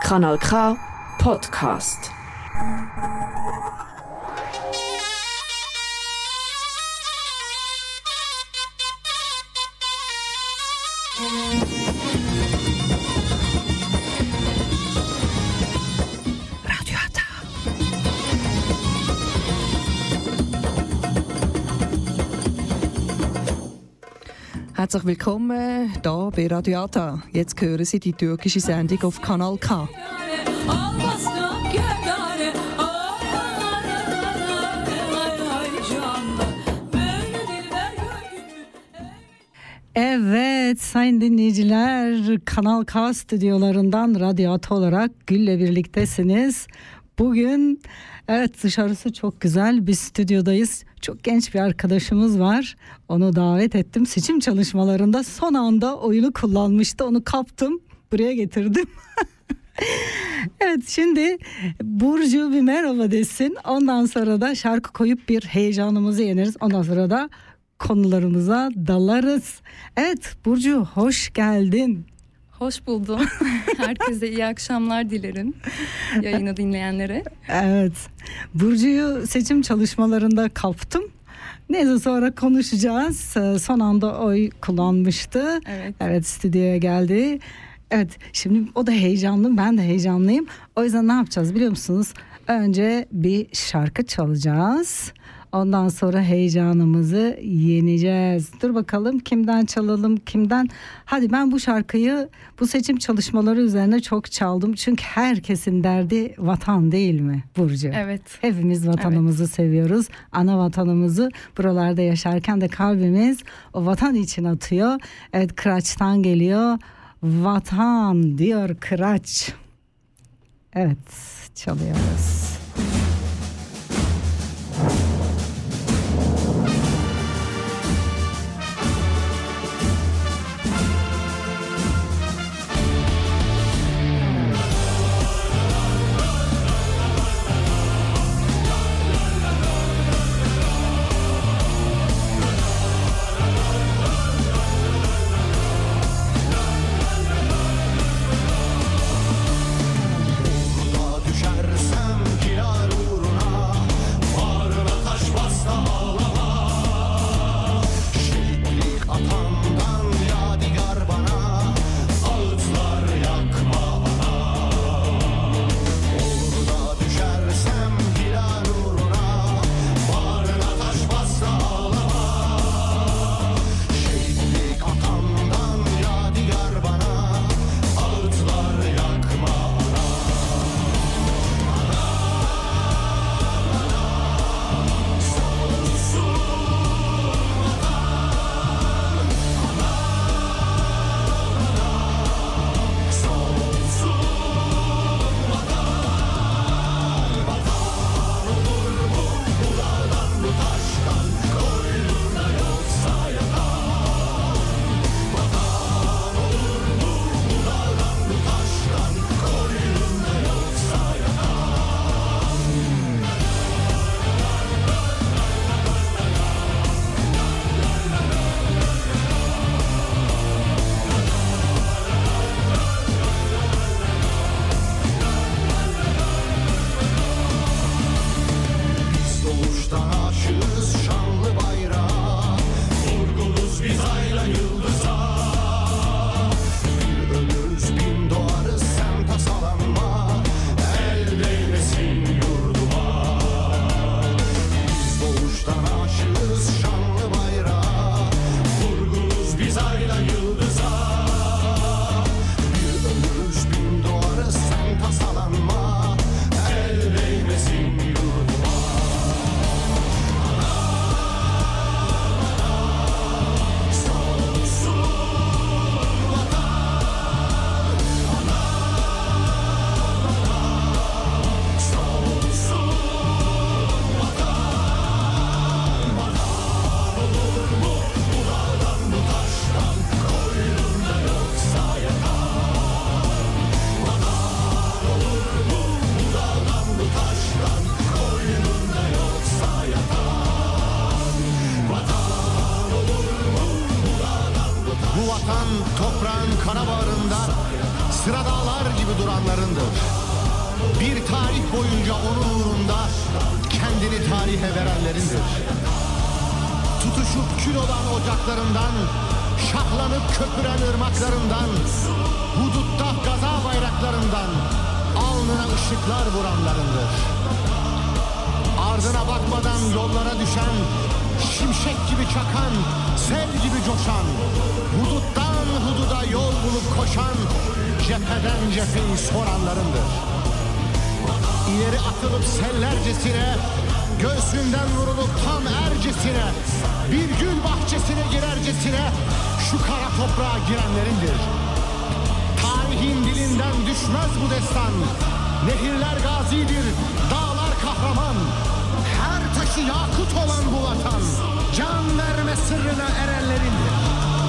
Kanal K Podcast. Herzlich willkommen hier bei Radio Ata. Jetzt hören Sie die türkische Sendung auf Kanal K. Evet sayın dinleyiciler, Kanal K stüdyolarından Radyo Ata olarak Gül'le birliktesiniz. Bugün evet dışarısı çok güzel, biz stüdyodayız. Çok genç bir arkadaşımız var. Onu davet ettim. Seçim çalışmalarında son anda oyunu kullanmıştı. Onu kaptım, buraya getirdim. Evet, şimdi Burcu bir merhaba desin. Ondan sonra da şarkı koyup bir heyecanımızı yeneriz. Ondan sonra da konularımıza dalarız. Evet Burcu, hoş geldin. Hoş buldum. Herkese iyi akşamlar dilerim. Yayını dinleyenlere. Evet. Burcu'yu seçim çalışmalarında kaptım. Neyse sonra konuşacağız. Son anda oy kullanmıştı. Evet. Evet, stüdyoya geldi. Evet, şimdi o da heyecanlı, ben de heyecanlıyım. O yüzden ne yapacağız biliyor musunuz? Önce bir şarkı çalacağız. Ondan sonra heyecanımızı yeneceğiz. Dur bakalım kimden çalalım, kimden? Hadi, ben bu şarkıyı bu seçim çalışmaları üzerine çok çaldım. Çünkü herkesin derdi vatan, değil mi Burcu? Evet. Hepimiz vatanımızı seviyoruz. Ana vatanımızı, buralarda yaşarken de kalbimiz o vatan için atıyor. Evet, Kıraç'tan geliyor. Vatan diyor Kıraç. Evet, çalıyoruz. Düşersem sıra dağlar gibi duranlarındır. Bir tarih boyunca onun uğrunda kendini tarihe verenlerindir. Tutuşup kül olan ocaklarından, şahlanıp köpüren ırmaklarından, hudutta gaza bayraklarından alnına ışıklar vuranlarındır. Ardına bakmadan yollara düşen, şimşek gibi çakan, sel gibi coşan, huduttan hududa yol bulup koşan, cepheden cepheyi soranlarındır. İleri atılıp sellercesine, göğsünden vurulup tam ercesine, bir gül bahçesine girercesine şu kara toprağa girenlerindir. Tarihin dilinden düşmez bu destan. Nehirler gazidir, dağlar kahraman. Her taşı yakut olan bu vatan, can verme sırrına erenlerindir.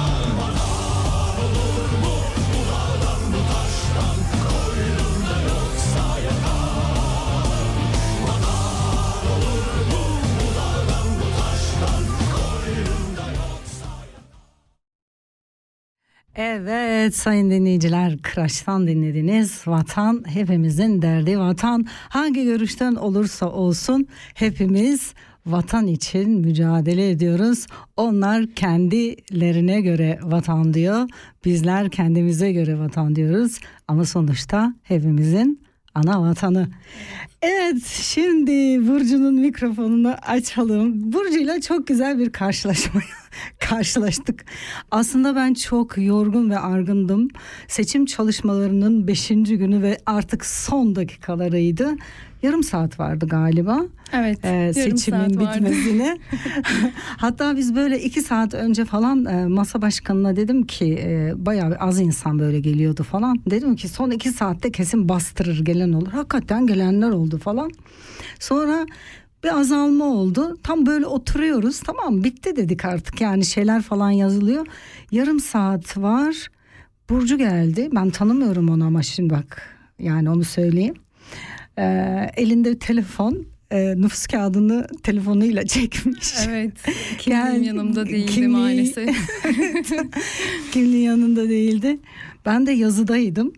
Evet sayın dinleyiciler, Kıraç'tan dinlediniz. Vatan hepimizin derdi. Vatan hangi görüşten olursa olsun hepimiz vatan için mücadele ediyoruz. Onlar kendilerine göre vatan diyor. Bizler kendimize göre vatan diyoruz. Ama sonuçta hepimizin ana vatanı. Evet, şimdi Burcu'nun mikrofonunu açalım. Burcu'yla çok güzel bir karşılaştık. Aslında ben çok yorgun ve argındım. Seçim çalışmalarının 5. günü ve artık son dakikalarıydı. Yarım saat vardı galiba. Evet, seçimin bitmesine. Hatta biz böyle 2 saat önce falan masa başkanına dedim ki bayağı az insan böyle geliyordu falan. Dedim ki son 2 saatte kesin bastırır, gelen olur. Hakikaten gelenler oldu falan. Sonra bir azalma oldu. Tam böyle oturuyoruz. Tamam, bitti dedik artık. Yani şeyler falan yazılıyor. Yarım saat var. Burcu geldi. Ben tanımıyorum onu ama şimdi bak. Yani onu söyleyeyim. Elinde telefon. Nüfus kağıdını telefonuyla çekmiş. Evet. Kimliğim yanımda değildi maalesef. Kimliği yanında değildi. Ben de yazıdaydım.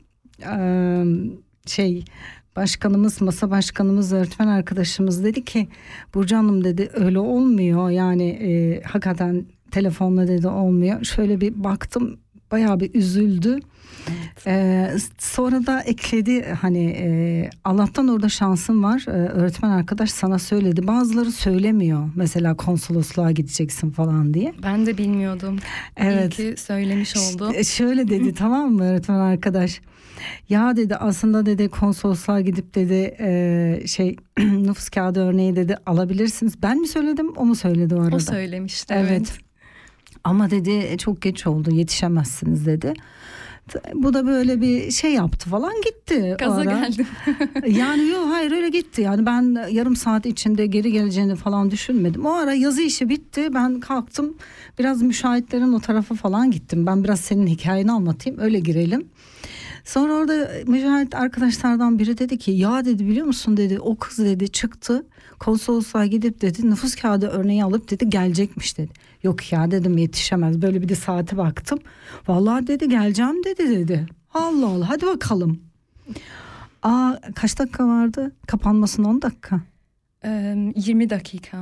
Başkanımız, masa başkanımız, öğretmen arkadaşımız dedi ki Burcu Hanım dedi, öyle olmuyor. Yani hakikaten telefonla dedi olmuyor. Şöyle bir baktım, bayağı bir üzüldü. Evet. Sonra da ekledi hani Allah'tan orada şansım var. Öğretmen arkadaş sana söyledi. Bazıları söylemiyor. Mesela konsolosluğa gideceksin falan diye. Ben de bilmiyordum. Evet. İyi ki söylemiş oldu. Şöyle dedi tamam mı öğretmen arkadaş? Ya dedi aslında dedi konsolosluğa gidip dedi nüfus kağıdı örneği dedi alabilirsiniz. Ben mi söyledim, o mu söyledi o arada? O söylemişti. Evet. Ama dedi çok geç oldu, yetişemezsiniz dedi. Bu da böyle bir şey yaptı falan, gitti. Gaza geldim. Yani yok, hayır öyle gitti. Yani ben yarım saat içinde geri geleceğini falan düşünmedim. O ara yazı işi bitti. Ben kalktım, biraz müşahitlerin o tarafa falan gittim. Ben biraz senin hikayeni anlatayım, öyle girelim. Sonra orada müşahit arkadaşlardan biri dedi ki ya dedi biliyor musun dedi, o kız dedi çıktı konsolosluğa gidip dedi nüfus kağıdı örneği alıp dedi gelecekmiş dedi. Yok ya dedim, yetişemez. Böyle bir de saate baktım. Vallahi dedi geleceğim dedi. Allah Allah, hadi bakalım. Kaç dakika vardı? Kapanmasına 10 dakika. 20 dakika.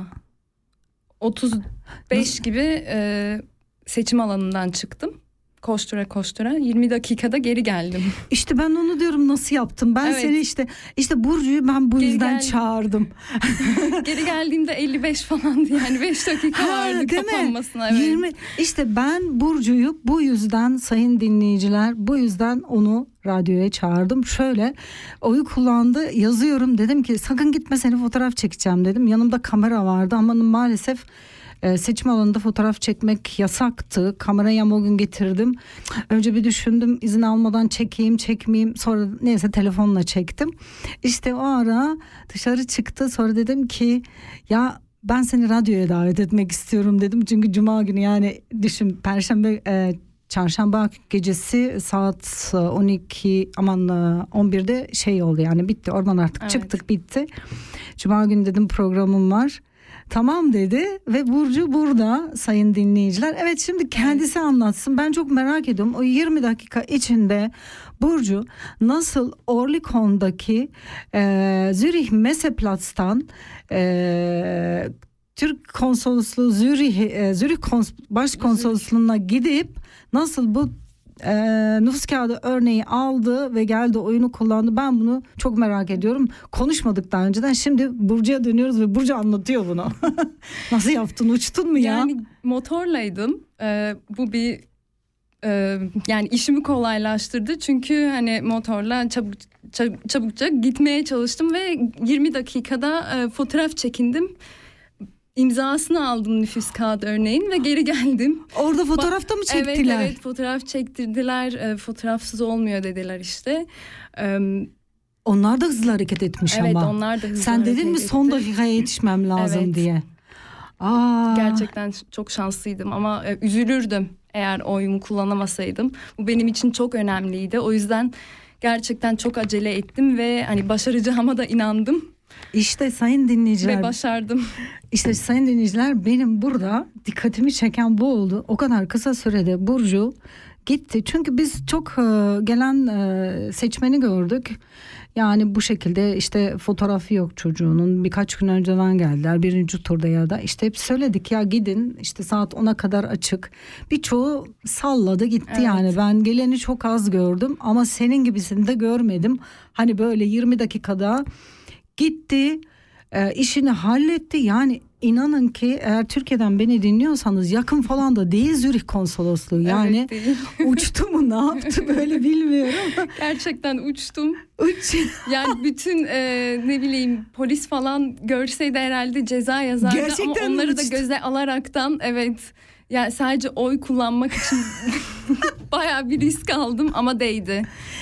35 gibi seçim alanından çıktım. Koştura 20 dakikada geri geldim. İşte ben onu diyorum, nasıl yaptım? Ben evet. Seni işte Burcu'yu ben bu yüzden çağırdım. Geri geldiğimde 55 falandı yani 5 dakika vardı kapanmasına. Evet. 20. İşte ben Burcu'yu bu yüzden sayın dinleyiciler, bu yüzden onu radyoya çağırdım. Şöyle oyu kullandı, yazıyorum, dedim ki sakın gitme, seni fotoğraf çekeceğim dedim. Yanımda kamera vardı ama maalesef seçim alanında fotoğraf çekmek yasaktı. Kamerayı ama o gün getirdim. Önce bir düşündüm, izin almadan çekmeyeyim. Sonra neyse telefonla çektim. İşte o ara dışarı çıktı. Sonra dedim ki ya ben seni radyoya davet etmek istiyorum dedim. Çünkü cuma günü, yani düşün, çarşamba gecesi saat 11'de oldu, yani bitti. Oradan artık çıktık, bitti. Cuma günü dedim programım var. Tamam dedi ve Burcu burada sayın dinleyiciler. Evet, şimdi kendisi anlatsın. Ben çok merak ediyorum. O 20 dakika içinde Burcu nasıl Orlikon'daki Zürich Messeplatz'tan Türk konsolosluğu Zürich Başkonsolosluğu'na gidip nasıl bu nüfus kağıdı örneği aldı ve geldi oyunu kullandı. Ben bunu çok merak ediyorum. Konuşmadık daha önceden. Şimdi Burcu'ya dönüyoruz ve Burcu anlatıyor bunu. Nasıl yaptın? Uçtun mu ya? Yani motorlaydım. Bu bir yani işimi kolaylaştırdı. Çünkü hani motorla çabukça gitmeye çalıştım ve 20 dakikada fotoğraf çekindim. İmzasını aldım nüfus kağıdı örneğin ve geri geldim. Orada fotoğrafta mı çektiler? Evet, fotoğraf çektirdiler. Fotoğrafsız olmuyor dediler işte. Onlar da hızlı hareket etmiş evet, ama. Evet, onlar da hızlı Sen hareket dedin mi son dakikaya yetişmem lazım evet. diye. Gerçekten çok şanslıydım ama üzülürdüm eğer oyumu kullanamasaydım. Bu benim için çok önemliydi. O yüzden gerçekten çok acele ettim ve hani başaracağıma da inandım. İşte sayın dinleyiciler. Ve başardım. İşte sayın dinleyiciler, benim burada dikkatimi çeken bu oldu. O kadar kısa sürede Burcu gitti. Çünkü biz çok gelen seçmeni gördük. Yani bu şekilde işte fotoğrafı yok çocuğunun. Birkaç gün önceden geldiler. Birinci turda ya da işte hep söyledik ya gidin işte saat 10'a kadar açık. Birçoğu salladı gitti evet. Yani ben geleni çok az gördüm ama senin gibisini de görmedim. Hani böyle 20 dakikada gitti, işini halletti. Yani inanın ki eğer Türkiye'den beni dinliyorsanız yakın falan da değil Zürich konsolosluğu. Yani evet, uçtu mu ne yaptı böyle bilmiyorum. Gerçekten uçtum. Yani bütün ne bileyim polis falan görseydi herhalde ceza yazardı. Gerçekten ama onları uçtu. Da göze alaraktan evet. Yani sadece oy kullanmak için bayağı bir risk aldım ama değdi.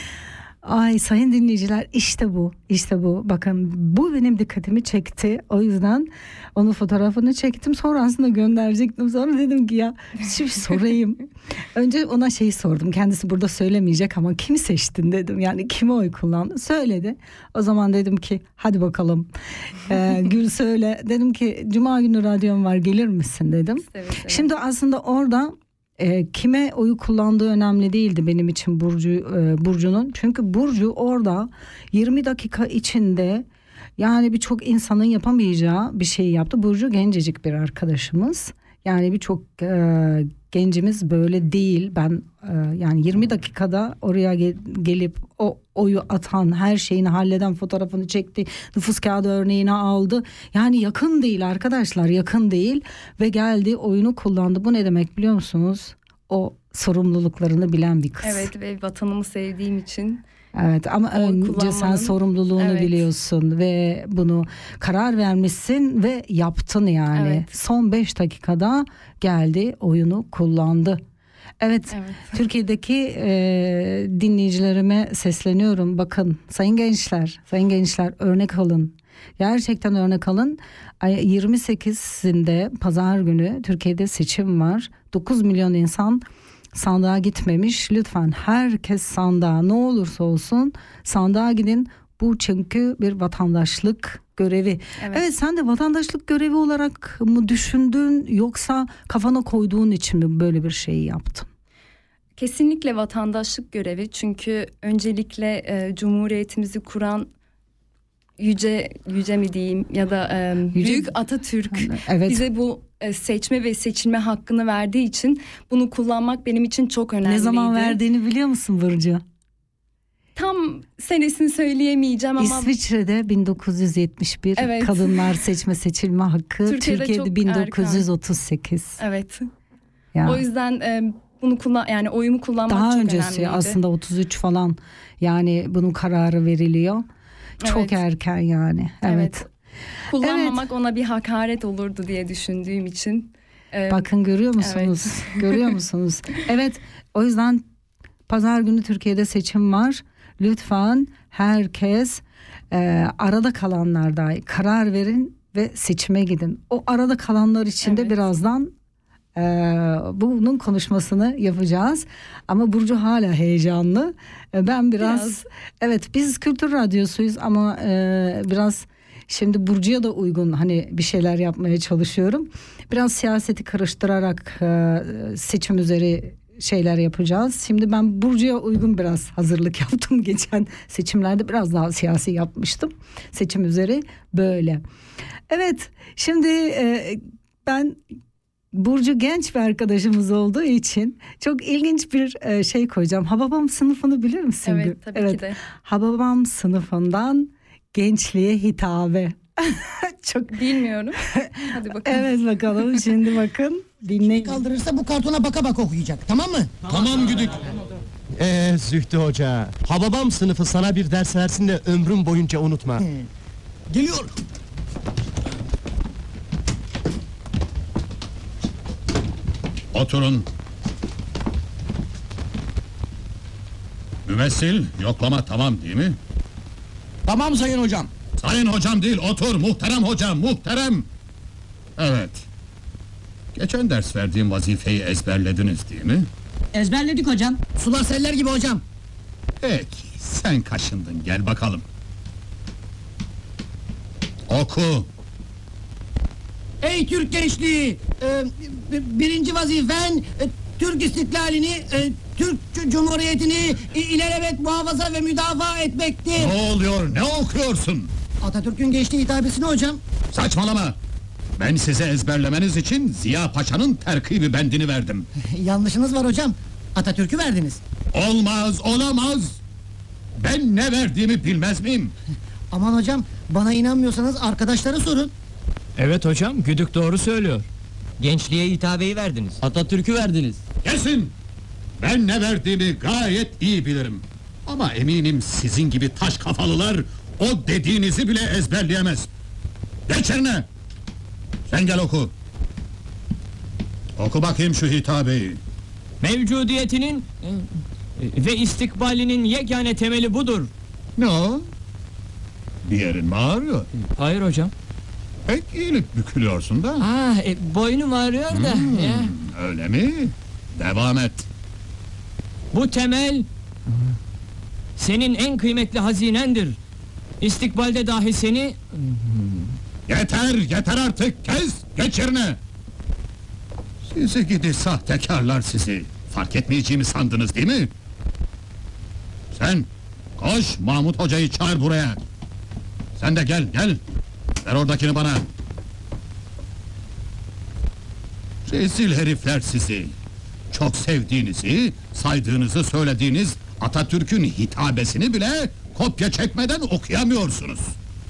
Ay sayın dinleyiciler, işte bu bakın bu benim dikkatimi çekti, o yüzden onun fotoğrafını çektim, sonra aslında gönderecektim, sonra dedim ki ya şimdi sorayım. Önce ona şeyi sordum, kendisi burada söylemeyecek ama kimi seçtin dedim, yani kime oy kullandın, söyledi. O zaman dedim ki hadi bakalım Gül söyle, dedim ki Cuma günü radyom var gelir misin dedim. Evet. Şimdi aslında orada kime oyu kullandığı önemli değildi benim için Burcu'nun. Çünkü Burcu orada 20 dakika içinde yani birçok insanın yapamayacağı bir şey yaptı. Burcu gencecik bir arkadaşımız. Yani birçok gencimiz böyle değil. Ben yani 20 dakikada oraya gelip o oyu atan, her şeyini halleden, fotoğrafını çekti, nüfus kağıdı örneğini aldı. Yani yakın değil arkadaşlar, yakın değil ve geldi oyunu kullandı. Bu ne demek biliyor musunuz? O sorumluluklarını bilen bir kız. Evet ve vatanımı sevdiğim için. Evet ama önce sen sorumluluğunu evet. biliyorsun ve bunu karar vermişsin ve yaptın yani. Evet. Son 5 dakikada geldi, oyunu kullandı. Evet. Türkiye'deki dinleyicilerime sesleniyorum. Bakın sayın gençler örnek alın. Gerçekten örnek alın. 28'inde pazar günü Türkiye'de seçim var. 9 milyon insan sandığa gitmemiş. Lütfen herkes sandığa, ne olursa olsun sandığa gidin. Bu çünkü bir vatandaşlık görevi. Evet, sen de vatandaşlık görevi olarak mı düşündün yoksa kafana koyduğun için mi böyle bir şeyi yaptın? Kesinlikle vatandaşlık görevi. Çünkü öncelikle Cumhuriyetimizi kuran yüce mi diyeyim ya da büyük Atatürk evet. bize bu seçme ve seçilme hakkını verdiği için bunu kullanmak benim için çok önemliydi. Ne zaman verdiğini biliyor musun Burcu? Tam senesini söyleyemeyeceğim ama İsviçre'de 1971 evet. kadınlar seçilme hakkı. Türkiye'de 1938. Evet. Ya. O yüzden bunu yani oyumu kullanmak daha çok öncesi önemliydi. Aslında 33 falan yani bunun kararı veriliyor. Çok evet. erken yani. Evet. Kullanmamak evet. ona bir hakaret olurdu diye düşündüğüm için. Bakın görüyor musunuz? Evet. Görüyor musunuz? Evet. O yüzden pazar günü Türkiye'de seçim var. Lütfen herkes arada kalanlar dahi karar verin ve seçime gidin. O arada kalanlar için de evet. birazdan bunun konuşmasını yapacağız. Ama Burcu hala heyecanlı. Ben biraz evet biz Kültür Radyosu'yuz ama biraz şimdi Burcu'ya da uygun hani bir şeyler yapmaya çalışıyorum. Biraz siyaseti karıştırarak seçim üzeri şeyler yapacağız. Şimdi ben Burcu'ya uygun biraz hazırlık yaptım. Geçen seçimlerde biraz daha siyasi yapmıştım. Seçim üzeri böyle. Evet, şimdi ben Burcu genç bir arkadaşımız olduğu için çok ilginç bir şey koyacağım. Hababam sınıfını bilir misin? Evet, tabii ki de. Hababam sınıfından gençliğe hitabe. Çok Bilmiyorum. Hadi bakalım. Evet, bakalım şimdi bakın dinleyin. Kaldırırsa bu kartona baka baka okuyacak, tamam mı? Tamam Güdük. Zühtü Hoca, Hababam sınıfı sana bir ders versin de ömrüm boyunca unutma. Geliyor. Oturun. Mümessil, yoklama tamam değil mi? Tamam sayın hocam. Sayın hocam değil, otur muhterem hocam, muhterem! Evet. Geçen ders verdiğim vazifeyi ezberlediniz değil mi? Ezberledik hocam. Sular seller gibi hocam. Peki, sen kaşındın, gel bakalım. Oku! Ey Türk gençliği! Birinci vazifen Türk istiklalini, Türk Cumhuriyeti'ni ilelebet muhafaza ve müdafaa etmektir. Ne oluyor, ne okuyorsun? Atatürk'ün gençliği hitabesini hocam. Saçmalama! Ben size ezberlemeniz için Ziya Paşa'nın terkibi bendini verdim. Yanlışınız var hocam. Atatürk'ü verdiniz. Olmaz, olamaz! Ben ne verdiğimi bilmez miyim? Aman hocam, bana inanmıyorsanız arkadaşlara sorun. Evet hocam, Güdük doğru söylüyor. Gençliğe hitabeyi verdiniz. Atatürk'ü verdiniz. Kesin! Ben ne verdiğimi gayet iyi bilirim. Ama eminim sizin gibi taş kafalılar o dediğinizi bile ezberleyemez. Geç yerine! Sen gel oku. Oku bakayım şu hitabeyi. Mevcudiyetinin ve istikbalinin yegane temeli budur. Ne o? Bir yerin mi ağrıyor? Hayır hocam. Pek iyilik bükülüyorsun da. Boynum ağrıyor da. Öyle mi? Devam et. Bu temel senin en kıymetli hazinendir. İstikbalde dahi seni Yeter artık, kes! Geç yerine! Sizi gidi sahtekarlar sizi! Fark etmeyeceğimi sandınız değil mi? Sen, koş Mahmut Hoca'yı çağır buraya! Sen de gel! Ver oradakini bana! Rezil herifler sizi! Çok sevdiğinizi, saydığınızı söylediğiniz Atatürk'ün hitabesini bile kopya çekmeden okuyamıyorsunuz!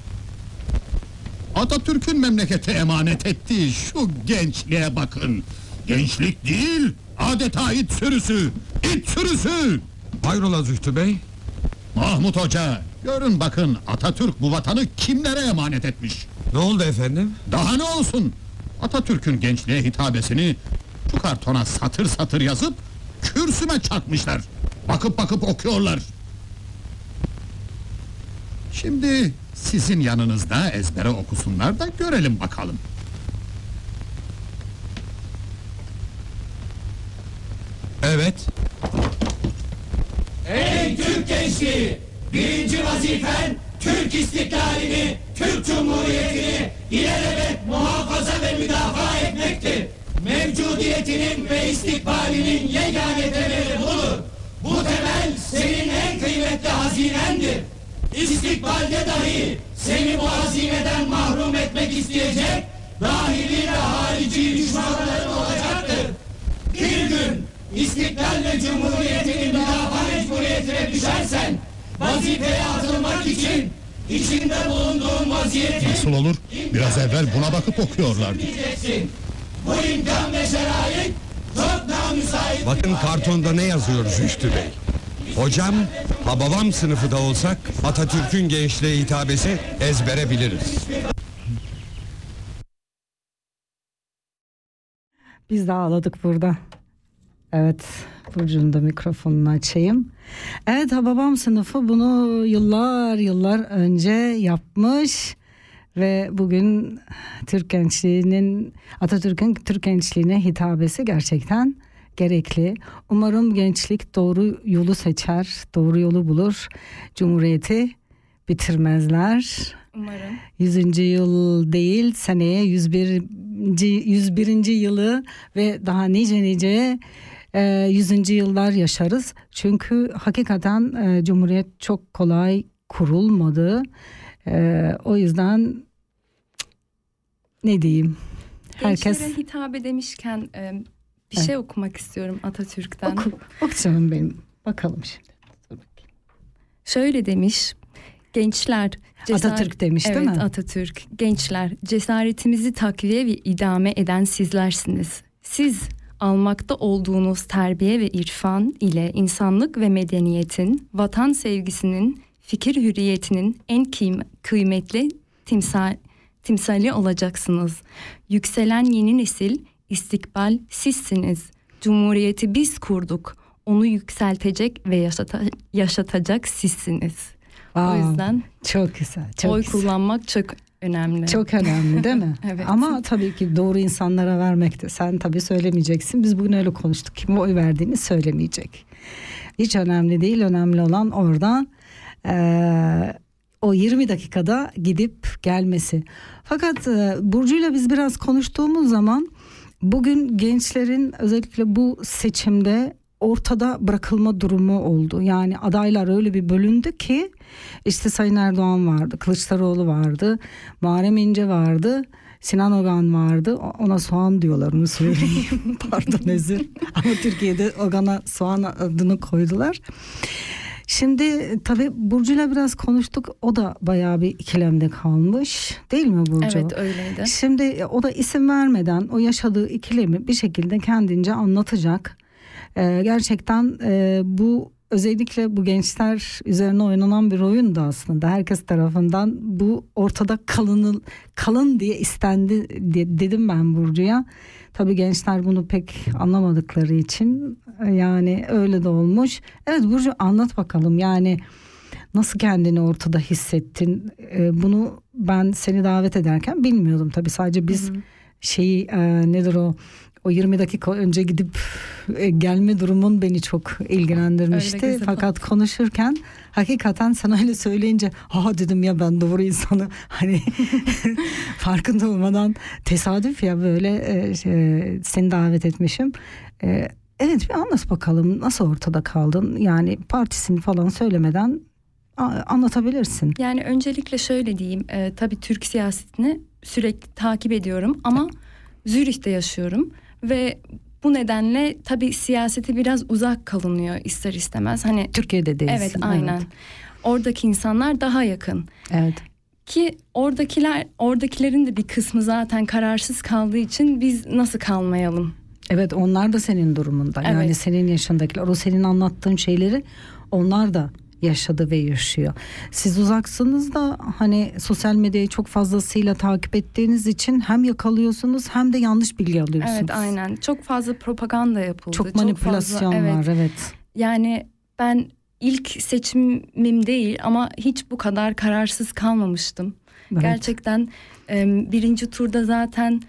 Atatürk'ün memlekete emanet ettiği şu gençliğe bakın! Gençlik değil, adeta it sürüsü! İt sürüsü! Hayrola Zühtü Bey? Mahmut Hoca, görün bakın Atatürk bu vatanı kimlere emanet etmiş? Ne oldu efendim? Daha ne olsun? Atatürk'ün gençliğe hitabesini şu kartona satır satır yazıp kürsüme çakmışlar. Bakıp okuyorlar. Şimdi sizin yanınızda ezbere okusunlar da görelim bakalım. Evet. Ey Türk gençliği! Birinci vazifen Türk istiklalini, Türk Cumhuriyeti'ni ilelebet muhafaza ve müdafaa etmektir. Mevcudiyetinin ve istikbalinin yegane temeli budur. Bu temel senin en kıymetli hazinendir. İstikbalde dahi seni bu hazineden mahrum etmek isteyecek dahili ve harici düşmanların olacaktır. Bir gün İstiklal ve Cumhuriyeti'nin müdafaa mecburiyetine düşersen vazifeye atılmak için içinde bulunduğun vaziyeti Nasıl olur? Biraz evvel buna bakıp okuyorlardı. Bu imkan ve şerait çok namüsait. Bakın kartonda ne yazıyor Zühtü Bey? Hocam, Hababam sınıfı da olsak Atatürk'ün gençliğe hitabesi ezbere biliriz. Biz de ağladık burada. Evet, Burcu'nun da mikrofonunu açayım. Evet, Hababam sınıfı bunu yıllar önce yapmış ve bugün Türk gençliğinin, Atatürk'ün Türk gençliğine hitabesi gerçekten gerekli. Umarım gençlik doğru yolu seçer, doğru yolu bulur. Cumhuriyeti bitirmezler. Umarım. 100. yıl değil, seneye 101. yılı ve daha nice 100. yıllar yaşarız. Çünkü hakikaten Cumhuriyet çok kolay kurulmadı. O yüzden ne diyeyim? Herkes Gençlere hitabe demişken bir şey okumak istiyorum Atatürk'ten. Oku canım benim. Bakalım şimdi. Şöyle demiş. Gençler Atatürk demiş değil mi? Evet, Atatürk. Gençler, cesaretimizi takviye ve idame eden sizlersiniz. Siz almakta olduğunuz terbiye ve irfan ile insanlık ve medeniyetin, vatan sevgisinin, fikir hürriyetinin en kıymetli timsali olacaksınız. Yükselen yeni nesil, istikbal sizsiniz. Cumhuriyeti biz kurduk. Onu yükseltecek ve yaşatacak sizsiniz. O yüzden çok güzel. Çok oy güzel. Kullanmak çok önemli. Çok önemli değil mi? Evet. Ama tabii ki doğru insanlara vermek de. Sen tabii söylemeyeceksin. Biz bugün öyle konuştuk. Kime oy verdiğini söylemeyecek. Hiç önemli değil. Önemli olan orada o 20 dakikada gidip gelmesi. Fakat Burcu'yla biz biraz konuştuğumuz zaman bugün gençlerin özellikle bu seçimde ortada bırakılma durumu oldu. Yani adaylar öyle bir bölündü ki işte Sayın Erdoğan vardı, Kılıçdaroğlu vardı, Muharrem İnce vardı, Sinan Ogan vardı. Ona soğan diyorlar, onu söyleyeyim. Pardon, özür. Ama Türkiye'de Ogan'a soğan adını koydular. Şimdi tabii Burcu'yla biraz konuştuk. O da bayağı bir ikilemde kalmış. Değil mi Burcu? Evet, öyleydi. Şimdi o da isim vermeden o yaşadığı ikilemi bir şekilde kendince anlatacak. Gerçekten bu özellikle bu gençler üzerine oynanan bir oyun da aslında. Herkes tarafından bu ortada kalın diye istendi dedim ben Burcu'ya. Tabii gençler bunu pek anlamadıkları için yani öyle de olmuş. Evet Burcu, anlat bakalım, yani nasıl kendini ortada hissettin? Bunu ben seni davet ederken bilmiyordum tabii, sadece biz nedir o 20 dakika önce gidip gelme durumun beni çok ilgilendirmişti. Fakat konuşurken hakikaten sana öyle söyleyince dedim ya, ben doğru insanı hani farkında olmadan tesadüf ya böyle seni davet etmişim. Evet, bir anlat bakalım, nasıl ortada kaldın? Yani partisini falan söylemeden anlatabilirsin. Yani öncelikle şöyle diyeyim, tabii Türk siyasetini sürekli takip ediyorum ama Zürih'te yaşıyorum ve bu nedenle tabii siyasete biraz uzak kalınıyor ister istemez. Hani Türkiye'de değilsin. Evet, aynen. Evet. Oradaki insanlar daha yakın. Evet. Ki oradakilerin de bir kısmı zaten kararsız kaldığı için biz nasıl kalmayalım? Evet, onlar da senin durumunda. Evet. Yani senin yaşındakiler, o senin anlattığın şeyleri onlar da yaşadı ve yaşıyor. Siz uzaksınız da hani sosyal medyayı çok fazlasıyla takip ettiğiniz için hem yakalıyorsunuz hem de yanlış bilgi alıyorsunuz. Evet, aynen. Çok fazla propaganda yapıldı. Çok manipülasyon var, evet. Yani ben ilk seçimim değil ama hiç bu kadar kararsız kalmamıştım. Evet. Gerçekten birinci turda zaten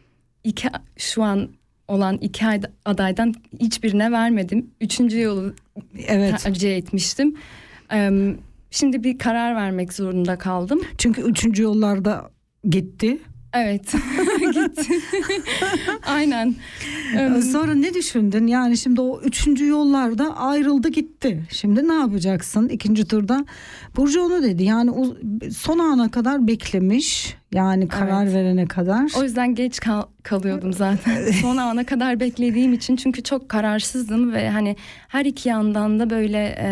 şu an olan iki adaydan hiçbirine vermedim. 3. yolu tercih etmiştim. Şimdi bir karar vermek zorunda kaldım. Çünkü 3. yollarda gitti. Evet. Gitti. Aynen. Sonra ne düşündün? Yani şimdi o 3. yollarda ayrıldı gitti. Şimdi ne yapacaksın 2. turda? Burcu onu dedi. Yani o son ana kadar beklemiş. Yani karar verene kadar. O yüzden geç kalıyordum zaten. Son ana kadar beklediğim için, çünkü çok kararsızdım ve hani her iki yandan da böyle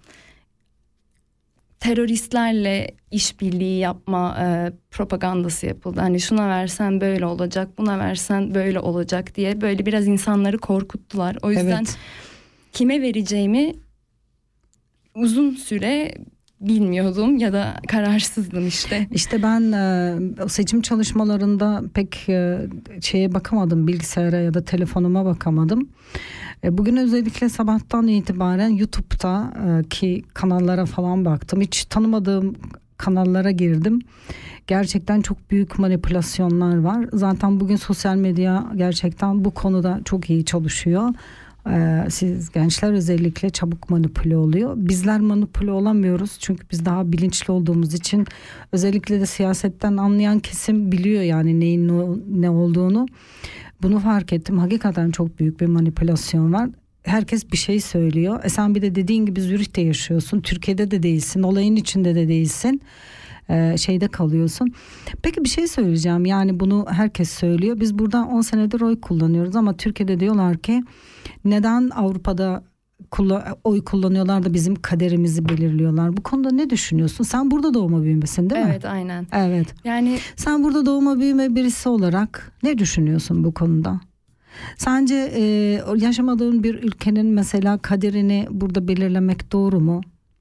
teröristlerle işbirliği yapma propagandası yapıldı. Hani şuna versen böyle olacak, buna versen böyle olacak diye böyle biraz insanları korkuttular. O yüzden kime vereceğimi uzun süre bilmiyordum ya da kararsızdım işte. İşte ben o seçim çalışmalarında pek şeye bakamadım, bilgisayara ya da telefonuma bakamadım. Bugün özellikle sabahtan itibaren YouTube'da ki kanallara falan baktım. Hiç tanımadığım kanallara girdim. Gerçekten çok büyük manipülasyonlar var. Zaten bugün sosyal medya gerçekten bu konuda çok iyi çalışıyor. Siz gençler özellikle çabuk manipüle oluyor. Bizler manipüle olamıyoruz çünkü biz daha bilinçli olduğumuz için, özellikle de siyasetten anlayan kesim biliyor yani neyin ne olduğunu. Bunu fark ettim. Hakikaten çok büyük bir manipülasyon var. Herkes bir şey söylüyor. Sen bir de dediğin gibi Zürih'te yaşıyorsun. Türkiye'de de değilsin. Olayın içinde de değilsin. Şeyde kalıyorsun. Peki bir şey söyleyeceğim. Yani bunu herkes söylüyor. Biz burada 10 senedir oy kullanıyoruz ama Türkiye'de diyorlar ki neden Avrupa'da oy kullanıyorlar da bizim kaderimizi belirliyorlar. Bu konuda ne düşünüyorsun? Sen burada doğma büyümesin değil mi? Evet, aynen. Evet. Yani sen burada doğma büyüme birisi olarak ne düşünüyorsun bu konuda? Sence yaşamadığın bir ülkenin mesela kaderini burada belirlemek doğru mu?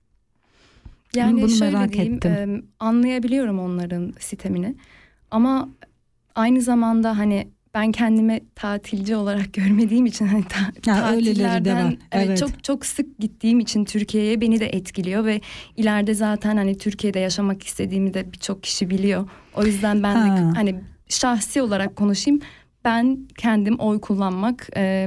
Yani bunu şöyle merak diyeyim, ettim. Anlayabiliyorum onların sitemini. Ama aynı zamanda hani ben kendimi tatilci olarak görmediğim için hani öyleleri de var. Evet. çok çok sık gittiğim için Türkiye'ye beni de etkiliyor ve ileride zaten hani Türkiye'de yaşamak istediğimi de birçok kişi biliyor. O yüzden ben de hani şahsi olarak konuşayım. Ben kendim oy kullanmak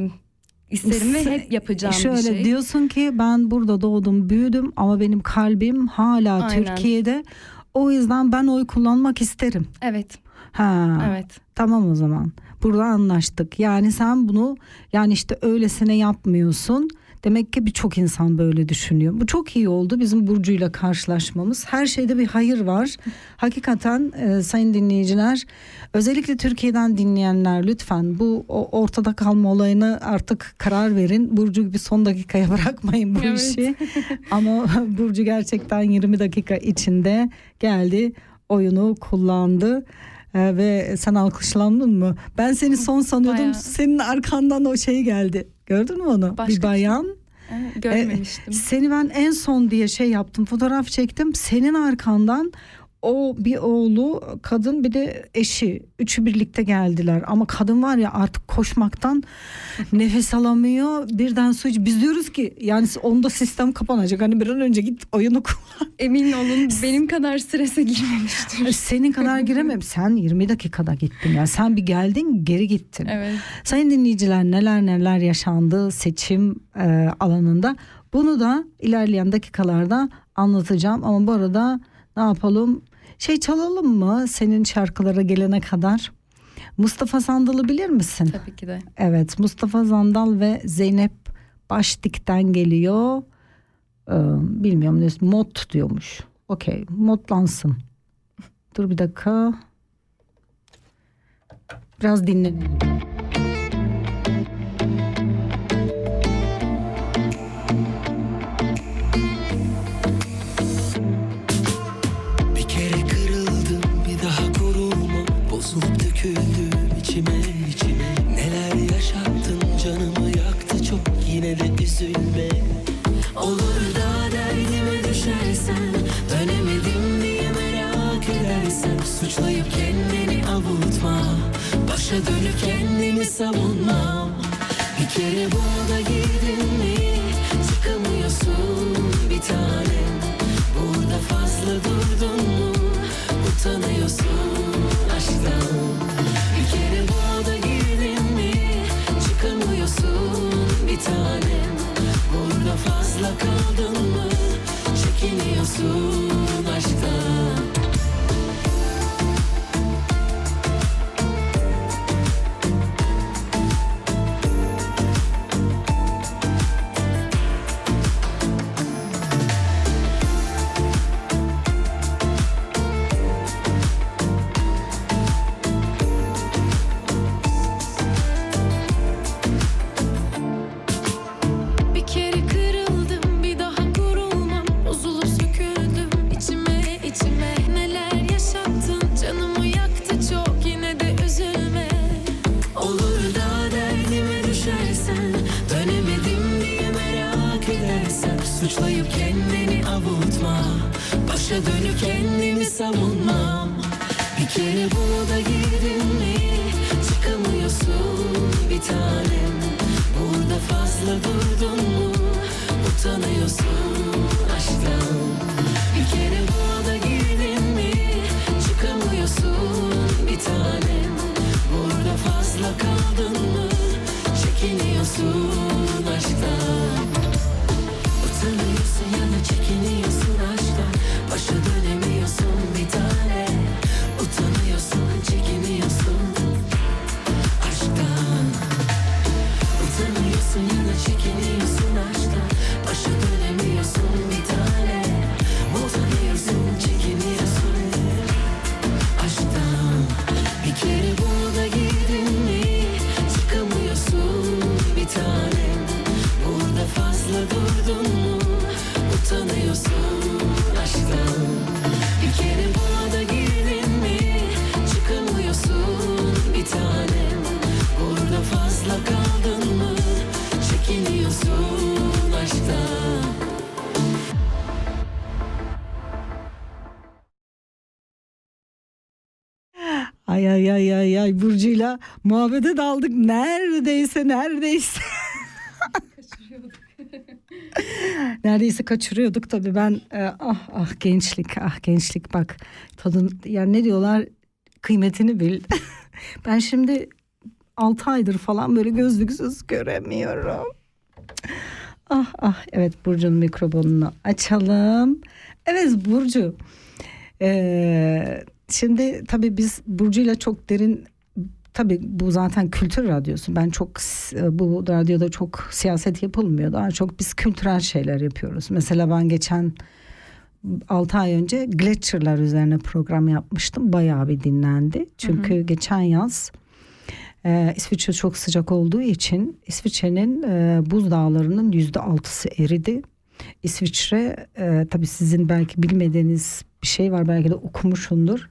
isterim ve hep yapacağım bir şey. Şöyle diyorsun ki ben burada doğdum, büyüdüm ama benim kalbim hala Aynen. Türkiye'de. O yüzden ben oy kullanmak isterim. Evet. Evet. Tamam o zaman. Burada anlaştık. Yani sen bunu yani işte öylesine yapmıyorsun. Demek ki birçok insan böyle düşünüyor. Bu çok iyi oldu bizim Burcu'yla karşılaşmamız. Her şeyde bir hayır var. Hakikaten sayın dinleyiciler, özellikle Türkiye'den dinleyenler lütfen bu ortada kalma olayına artık karar verin. Burcu gibi son dakikaya bırakmayın bu işi. Ama Burcu gerçekten 20 dakika içinde geldi, oyunu kullandı. Ve sen alkışlandın mı? Ben seni son sanıyordum. Bayağı. Senin arkandan o şey geldi. Gördün mü onu? Bir bayan. Evet, görmemiştim. Seni ben en son diye şey yaptım. Fotoğraf çektim. Senin arkandan o bir oğlu, kadın, bir de eşi. Üçü birlikte geldiler. Ama kadın var ya artık koşmaktan nefes alamıyor. Birden su iç. Biz diyoruz ki yani onda sistem kapanacak. Hani bir an önce git oyunu kullan. Emin olun benim kadar strese girmemiştir. Senin kadar giremem. Sen 20 dakikada gittin. Yani sen bir geldin, geri gittin. Evet. Sayın dinleyiciler, neler yaşandı seçim alanında. Bunu da ilerleyen dakikalarda anlatacağım. Ama bu arada ne yapalım? Çalalım mı senin şarkılara gelene kadar? Mustafa Sandal'ı bilir misin? Tabii ki de. Evet, Mustafa Sandal ve Zeynep Başdik'ten geliyor. Bilmiyorum ne, mod diyormuş. Okey, modlansın. Dur bir dakika. Biraz dinleyelim. Bozulup döküldüm içime neler yaşattın, canımı yaktı çok, yine de üzülme. Olur da derdime düşersen, dönemedim diye merak edersen, suçlayıp kendini avutma, başa dönüp kendimi savunmam. Bir kere burada girdin mi çıkamıyorsun bir tanem, burada fazla durdun mu utanıyorsun aşktan. Bir kere burada girdin mi çıkamıyorsun bir tanem, burada fazla kaldın mı çekiniyorsun aşktan. Suçlayıp kendini avutma, başa dönüp kendimi savunmam. Bir kere burada girdin mi çıkamıyorsun bir tanem, burada fazla durdun mu utanıyorsun aşktan. Bir kere burada girdin mi çıkamıyorsun bir tanem, burada fazla kaldın mı çekiniyorsun Ay Burcu'yla muhabbete daldık. Neredeyse. Neredeyse kaçırıyorduk tabii. Ben gençlik bak. Tadın, yani ne diyorlar, kıymetini bil. Ben şimdi 6 aydır falan böyle gözlüksüz göremiyorum. Evet, Burcu'nun mikrofonunu açalım. Evet Burcu. Şimdi tabii biz Burcu'yla çok derin, tabii bu zaten kültür radyosu. Ben çok, bu radyoda çok siyaset yapılmıyor. Daha çok biz kültürel şeyler yapıyoruz. Mesela ben geçen 6 ay önce Gletscher'lar üzerine program yapmıştım. Bayağı bir dinlendi. Çünkü geçen yaz İsviçre çok sıcak olduğu için İsviçre'nin buzdağlarının %6'sı eridi. İsviçre tabii sizin belki bilmediğiniz bir şey var, belki de okumuşsundur.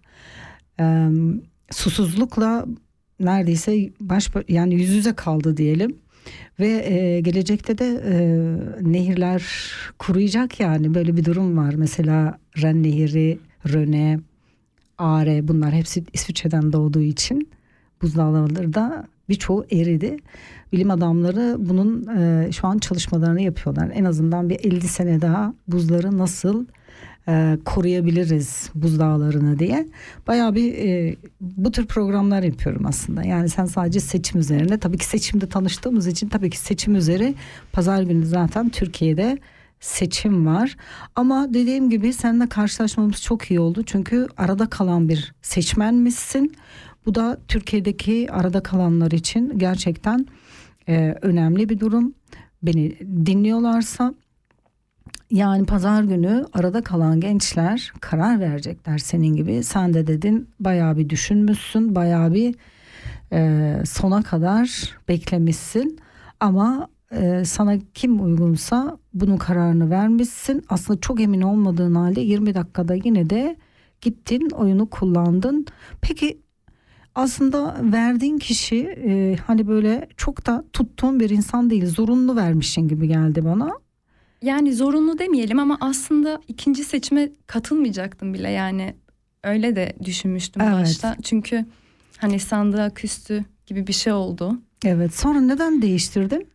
Susuzlukla neredeyse yani yüz yüze kaldı diyelim. Ve gelecekte de nehirler kuruyacak, yani böyle bir durum var. Mesela Ren Nehri, Röne, Are, bunlar hepsi İsviçre'den doğduğu için buzdağları da birçoğu eridi. Bilim adamları bunun şu an çalışmalarını yapıyorlar. En azından bir 50 sene daha buzları nasıl koruyabiliriz, buzdağlarını diye. Bayağı bir bu tür programlar yapıyorum aslında. Yani sen sadece seçim üzerine, tabii ki seçimde tanıştığımız için tabii ki seçim üzeri, pazar günü zaten Türkiye'de seçim var. Ama dediğim gibi seninle karşılaşmamız çok iyi oldu. Çünkü arada kalan bir seçmenmişsin. Bu da Türkiye'deki arada kalanlar için gerçekten önemli bir durum. Beni dinliyorlarsa, yani pazar günü arada kalan gençler karar verecekler senin gibi. Sen de dedin, bayağı bir düşünmüşsün, bayağı bir sona kadar beklemişsin. Ama sana kim uygunsa bunun kararını vermişsin. Aslında çok emin olmadığın halde 20 dakikada yine de gittin, oyunu kullandın. Peki aslında verdiğin kişi hani böyle çok da tuttuğun bir insan değil, zorunlu vermişsin gibi geldi bana. Yani zorunlu demeyelim ama aslında ikinci seçime katılmayacaktım bile, yani öyle de düşünmüştüm başta. Çünkü hani sandığa küstü gibi bir şey oldu. Evet, sonra neden değiştirdin?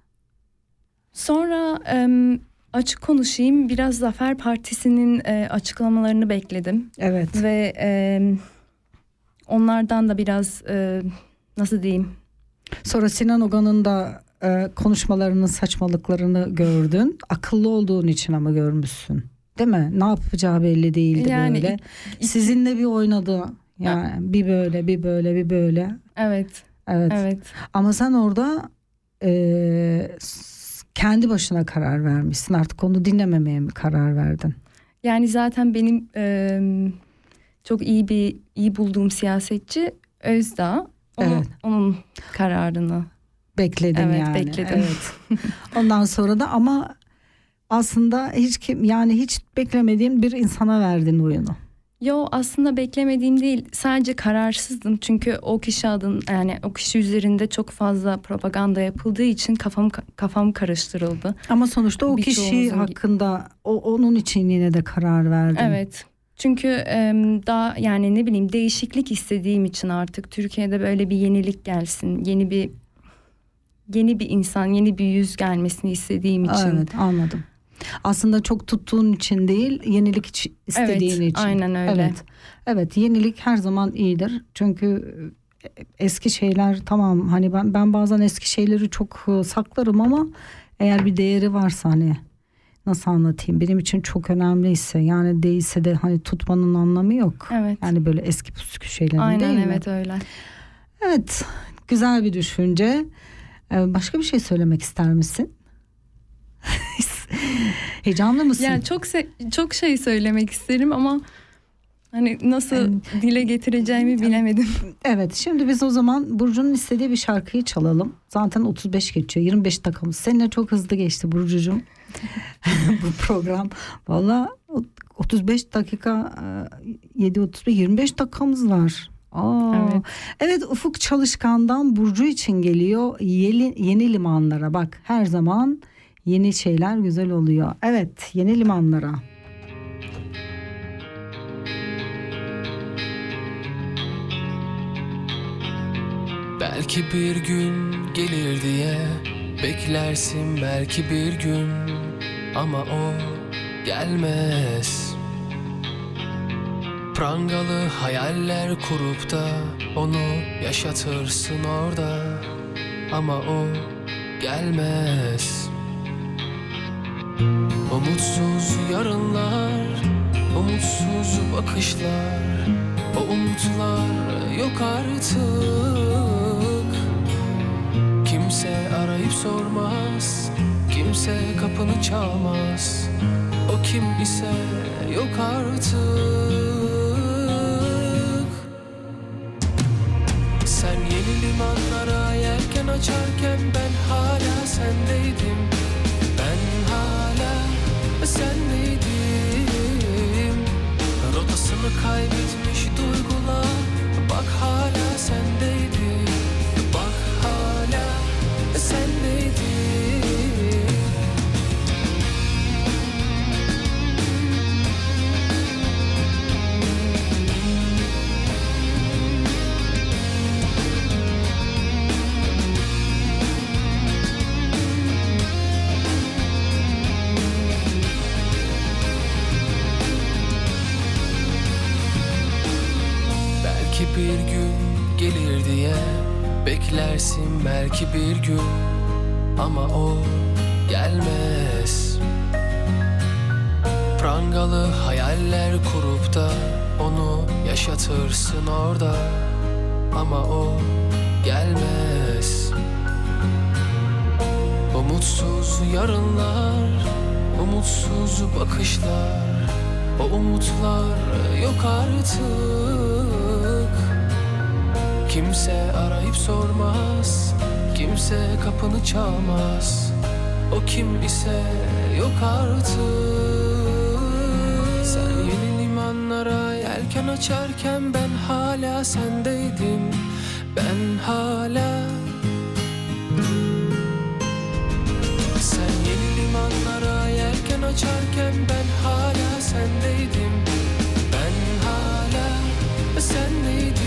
Sonra açık konuşayım, biraz Zafer Partisi'nin açıklamalarını bekledim. Evet. Ve onlardan da biraz nasıl diyeyim? Sonra Sinan Ogan'ın da konuşmalarının saçmalıklarını gördün. Akıllı olduğun için ama görmüşsün. Değil mi? Ne yapacağı belli değildi yani böyle. Sizinle bir oynadı. Yani bir böyle. Evet. Ama sen orada kendi başına karar vermişsin. Artık onu dinlememeye mi karar verdin? Yani zaten benim çok iyi bulduğum siyasetçi Özdağ. Onun kararını bekledin yani. Evet, bekledim. Evet. Ondan sonra da ama aslında hiç beklemediğin bir insana verdin oyunu. Yo, aslında beklemediğim değil, sadece kararsızdım çünkü o kişi üzerinde çok fazla propaganda yapıldığı için kafam karıştırıldı. Ama sonuçta o kişi hakkında onun için yine de karar verdin. Evet. Çünkü daha yani ne bileyim, değişiklik istediğim için artık Türkiye'de böyle bir yenilik gelsin, yeni bir insan, yeni bir yüz gelmesini istediğim için. Evet, anladım. Aslında çok tuttuğun için değil, yenilik istediğin için. Aynen öyle. Evet, yenilik her zaman iyidir. Çünkü eski şeyler tamam, hani ben bazen eski şeyleri çok saklarım ama eğer bir değeri varsa, hani nasıl anlatayım, benim için çok önemliyse, yani değilse de hani tutmanın anlamı yok. Evet. Yani böyle eski püskü şeylerin aynen, değil mi? Evet öyle. Evet, güzel bir düşünce. Başka bir şey söylemek ister misin? Heyecanlı mısın? Yani çok şey söylemek isterim ama hani nasıl dile getireceğimi bilemedim. Evet, şimdi biz o zaman Burcu'nun istediği bir şarkıyı çalalım. Zaten 35 geçiyor, 25 dakikamız. Seninle çok hızlı geçti Burcucuğum. Bu program. Valla 35 dakika 25 dakikamız var. Evet, Ufuk Çalışkan'dan Burcu için geliyor. Yeni limanlara, bak her zaman yeni şeyler güzel oluyor. Evet, yeni limanlara. Belki bir gün gelir diye beklersin belki bir gün, ama o gelmez. Prangalı hayaller kurup da onu yaşatırsın orada, ama o gelmez. Umutsuz yarınlar, umutsuz bakışlar, o umutlar yok artık. Kimse arayıp sormaz, kimse kapını çalmaz, o kim ise yok artık. Sen yeni limanlara yelken açarken ben hala sendeydim. Ben hala sendeydim. Rotasını kaybetmiş duygular, bak hala sendeydi. Bak hala sendeydi. Bir gün gelir diye beklersin belki bir gün, ama o gelmez. Prangalı hayaller kurup da onu yaşatırsın orada, ama o gelmez. Umutsuz yarınlar, umutsuz bakışlar, o umutlar yok artık. Kimse arayıp sormaz, kimse kapını çalmaz, o kim ise yok artık. Sen yeni limanlara yelken açarken ben hala sendeydim. Ben hala. Sen yeni limanlara yelken açarken ben hala sendeydim. Ben hala sendeydim.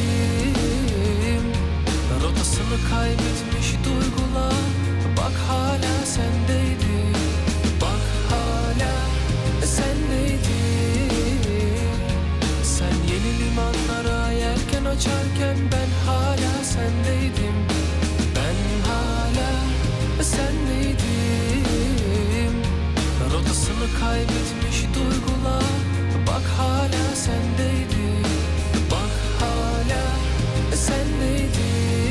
Rotasını kaybetmiş duygular, bak hala sendeydi. Bak hala sendeydi. Sen yeni limanlara yelken açarken ben hala sendeydim. Ben hala sendeydim. Rotasını kaybetmiş duygular, bak hala sendeydi. Bak hala sendeydi.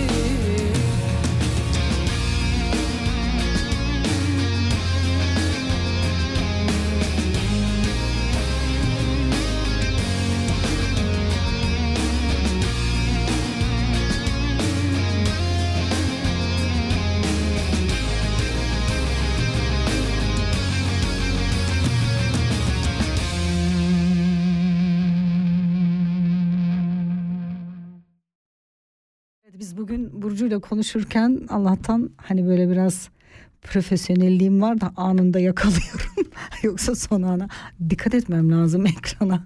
Biz bugün Burcu'yla konuşurken Allah'tan hani böyle biraz profesyonelliğim var da anında yakalıyorum. Yoksa son ana dikkat etmem lazım ekrana.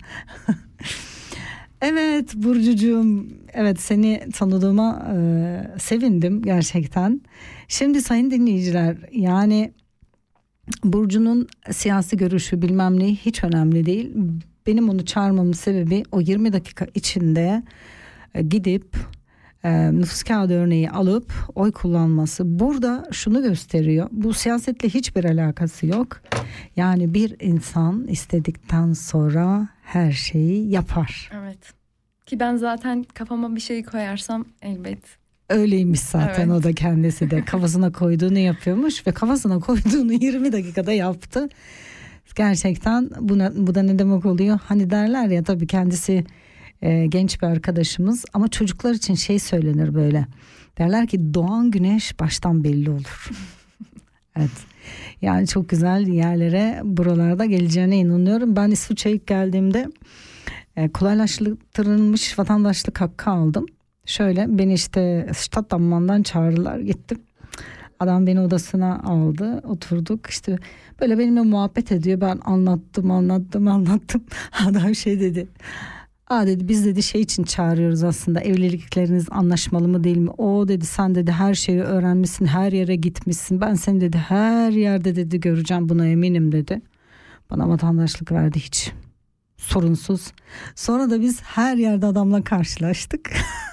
Evet Burcucuğum, evet seni tanıdığıma sevindim gerçekten. Şimdi sayın dinleyiciler, yani Burcu'nun siyasi görüşü bilmem ne hiç önemli değil. Benim onu çağırmamın sebebi o 20 dakika içinde gidip nüfus kağıdı örneği alıp oy kullanması. Burada şunu gösteriyor. Bu siyasetle hiçbir alakası yok. Yani bir insan istedikten sonra her şeyi yapar. Evet. Ki ben zaten kafama bir şey koyarsam elbet. Öyleymiş zaten, evet. O da kendisi de kafasına koyduğunu yapıyormuş ve kafasına koyduğunu 20 dakikada yaptı. Gerçekten bu da ne demek oluyor? Hani derler ya, tabii kendisi genç bir arkadaşımız ama çocuklar için şey söylenir böyle. Derler ki doğan güneş baştan belli olur. Evet. Yani çok güzel yerlere buralarda geleceğine inanıyorum. Ben İsviçre'ye ilk geldiğimde kolaylaştırılmış vatandaşlık hakkı aldım. Şöyle beni işte Stadtdammann'dan çağırdılar, gittim. Adam beni odasına aldı, oturduk işte böyle benimle muhabbet ediyor. Ben anlattım. Adam şey dedi. Dedi biz dedi şey için çağırıyoruz aslında, evlilikleriniz anlaşmalı mı değil mi? O dedi sen dedi her şeyi öğrenmişsin, her yere gitmişsin. Ben seni dedi her yerde dedi göreceğim, buna eminim dedi. Bana vatandaşlık verdi hiç sorunsuz. Sonra da biz her yerde adamla karşılaştık.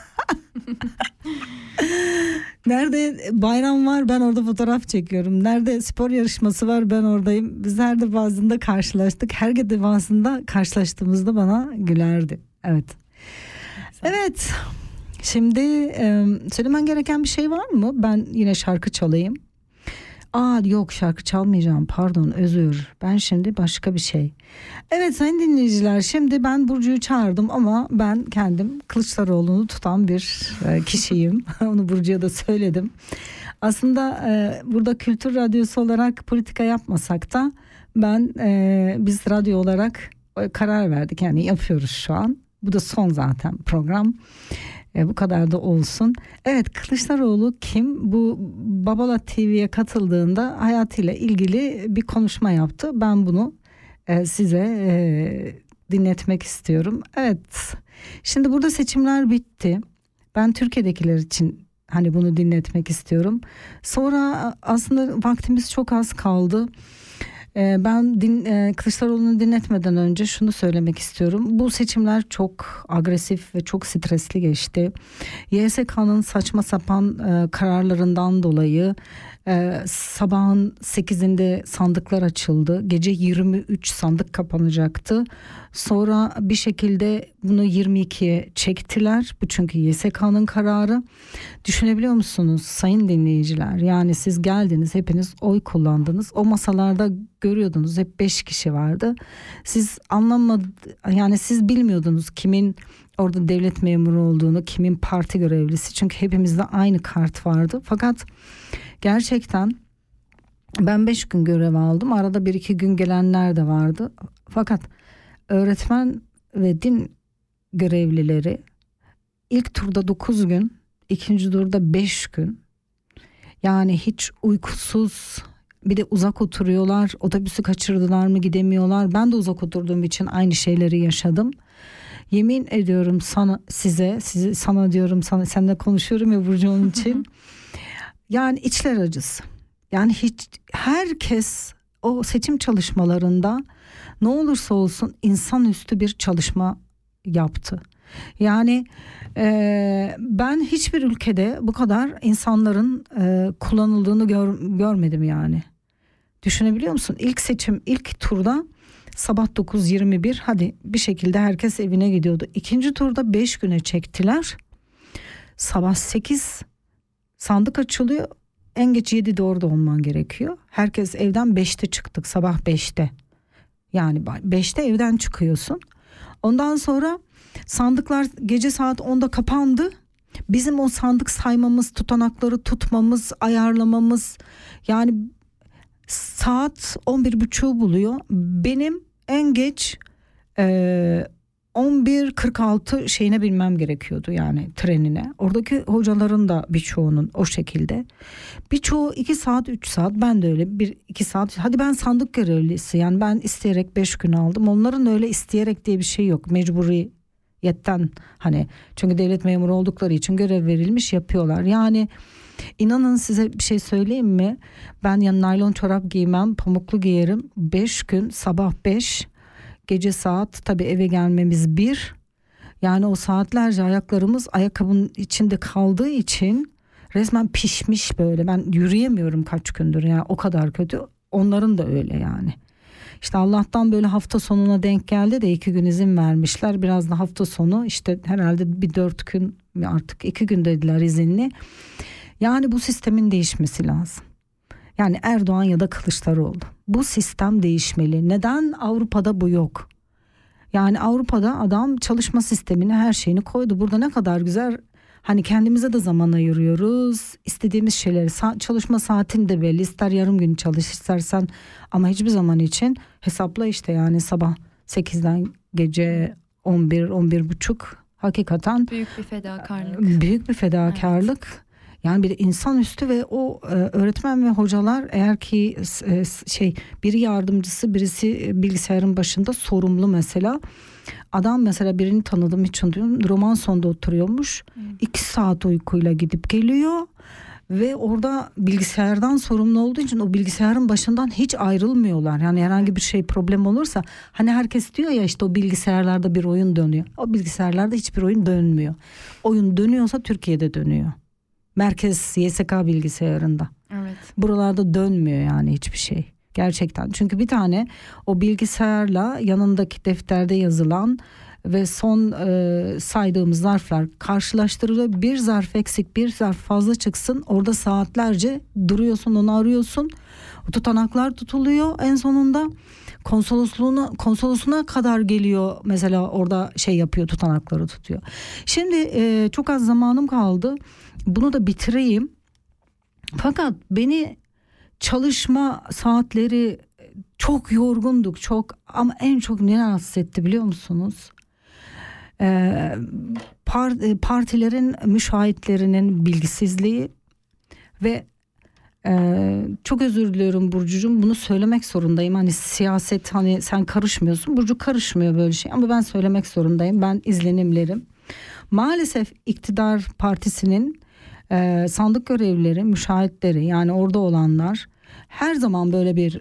Nerede bayram var ben orada fotoğraf çekiyorum. Nerede spor yarışması var ben oradayım. Biz her defasında karşılaştık. Her defasında karşılaştığımızda bana gülerdi. Evet. Evet. Şimdi söylemen gereken bir şey var mı? Ben yine şarkı çalayım. Yok şarkı çalmayacağım, pardon, özür. Ben şimdi başka bir şey. Evet sayın dinleyiciler, şimdi ben Burcu'yu çağırdım ama ben kendim Kılıçdaroğlu'nu tutan bir kişiyim. Onu Burcu'ya da söyledim. Aslında burada Kültür Radyosu olarak politika yapmasak da biz radyo olarak karar verdik. Yani yapıyoruz şu an. Bu da son zaten program. Bu kadar da olsun. Evet, Kılıçdaroğlu kim? Bu Babalat TV'ye katıldığında hayatıyla ilgili bir konuşma yaptı. Ben bunu size dinletmek istiyorum. Evet. Şimdi burada seçimler bitti. Ben Türkiye'dekiler için hani bunu dinletmek istiyorum. Sonra aslında vaktimiz çok az kaldı. Ben Kılıçdaroğlu'nu dinletmeden önce şunu söylemek istiyorum. Bu seçimler çok agresif ve çok stresli geçti. YSK'nın saçma sapan kararlarından dolayı sabahın 8'inde sandıklar açıldı. Gece 23 sandık kapanacaktı. Sonra bir şekilde bunu 22'ye çektiler. Bu çünkü YSK'nın kararı. Düşünebiliyor musunuz sayın dinleyiciler? Yani siz geldiniz, hepiniz oy kullandınız. O masalarda görüyordunuz hep 5 kişi vardı. Siz yani siz bilmiyordunuz kimin orada devlet memuru olduğunu, kimin parti görevlisi. Çünkü hepimizde aynı kart vardı. Fakat gerçekten ben 5 gün görev aldım. Arada 1-2 gün gelenler de vardı. Fakat öğretmen ve din görevlileri ilk turda 9 gün, ikinci turda 5 gün. Yani hiç uykusuz, bir de uzak oturuyorlar. Otobüsü kaçırdılar mı gidemiyorlar. Ben de uzak oturduğum için aynı şeyleri yaşadım. Yemin ediyorum sana diyorum, seninle konuşuyorum ya Burcu onun için. Yani içler acısı. Yani herkes o seçim çalışmalarında ne olursa olsun insanüstü bir çalışma yaptı. Yani ben hiçbir ülkede bu kadar insanların kullanıldığını görmedim yani. Düşünebiliyor musun? İlk turda sabah 9:21 hadi bir şekilde herkes evine gidiyordu. İkinci turda 5 güne çektiler. Sabah 8 sandık açılıyor. En geç 7'de orada olman gerekiyor. Herkes evden 5'te çıktık, sabah 5'te. Yani 5'te evden çıkıyorsun. Ondan sonra sandıklar gece saat 10'da kapandı. Bizim o sandık saymamız, tutanakları tutmamız, ayarlamamız, yani saat 11.30'u buluyor. Benim en geç 11.46 şeyine binmem gerekiyordu, yani trenine. Oradaki hocaların da birçoğunun o şekilde. Birçoğu 2 saat 3 saat, ben de öyle 1-2 saat. Hadi ben sandık görevlisi, yani ben isteyerek 5 gün aldım. Onların öyle isteyerek diye bir şey yok. Mecburiyetten, hani çünkü devlet memuru oldukları için görev verilmiş, yapıyorlar. Yani inanın size bir şey söyleyeyim mi? Ben naylon çorap giymem, pamuklu giyerim. 5 gün sabah 5, gece saat tabii eve gelmemiz 1. Yani o saatlerce ayaklarımız ayakkabının içinde kaldığı için resmen pişmiş böyle. Ben yürüyemiyorum kaç gündür, yani o kadar kötü. Onların da öyle yani. İşte Allah'tan böyle hafta sonuna denk geldi de 2 gün izin vermişler. Biraz da hafta sonu işte herhalde bir 4 gün, artık 2 gün dediler izinli. Yani bu sistemin değişmesi lazım. Yani Erdoğan ya da Kılıçdaroğlu. Bu sistem değişmeli. Neden Avrupa'da bu yok? Yani Avrupa'da adam çalışma sistemini, her şeyini koydu. Burada ne kadar güzel, hani kendimize de zaman ayırıyoruz. İstediğimiz şeyleri, çalışma saatin de belli. İster yarım gün çalış istersen, ama hiçbir zaman için hesapla işte, yani sabah 8'den gece 11-11.30 hakikaten büyük bir fedakarlık. Büyük bir fedakarlık. Evet. Yani bir insanüstü ve o öğretmen ve hocalar eğer ki biri yardımcısı, birisi bilgisayarın başında sorumlu mesela. Adam mesela birini tanıdım, hiç unutmuyorum. Roman sonunda oturuyormuş. 2 saat uykuyla gidip geliyor. Ve orada bilgisayardan sorumlu olduğu için o bilgisayarın başından hiç ayrılmıyorlar. Yani herhangi bir şey problem olursa hani herkes diyor ya işte o bilgisayarlarda bir oyun dönüyor. O bilgisayarlarda hiçbir oyun dönmüyor. Oyun dönüyorsa Türkiye'de dönüyor. Merkez YSK bilgisayarında. Evet. Buralarda dönmüyor yani hiçbir şey. Gerçekten. Çünkü bir tane o bilgisayarla yanındaki defterde yazılan ve son saydığımız zarflar karşılaştırılıyor. Bir zarf eksik, bir zarf fazla çıksın. Orada saatlerce duruyorsun, onu arıyorsun. O tutanaklar tutuluyor. En sonunda konsolosluğuna kadar geliyor. Mesela orada yapıyor, tutanakları tutuyor. Şimdi çok az zamanım kaldı. Bunu da bitireyim. Fakat beni çalışma saatleri çok yorgunduk, çok, ama en çok ne rahatsız etti biliyor musunuz? Partilerin müşahitlerinin bilgisizliği ve çok özür diliyorum Burcucuğum, bunu söylemek zorundayım. Hani siyaset, hani sen karışmıyorsun, Burcu karışmıyor böyle şey, ama ben söylemek zorundayım. Ben izlenimlerim. Maalesef iktidar partisinin sandık görevlileri, müşahitleri, yani orada olanlar her zaman böyle bir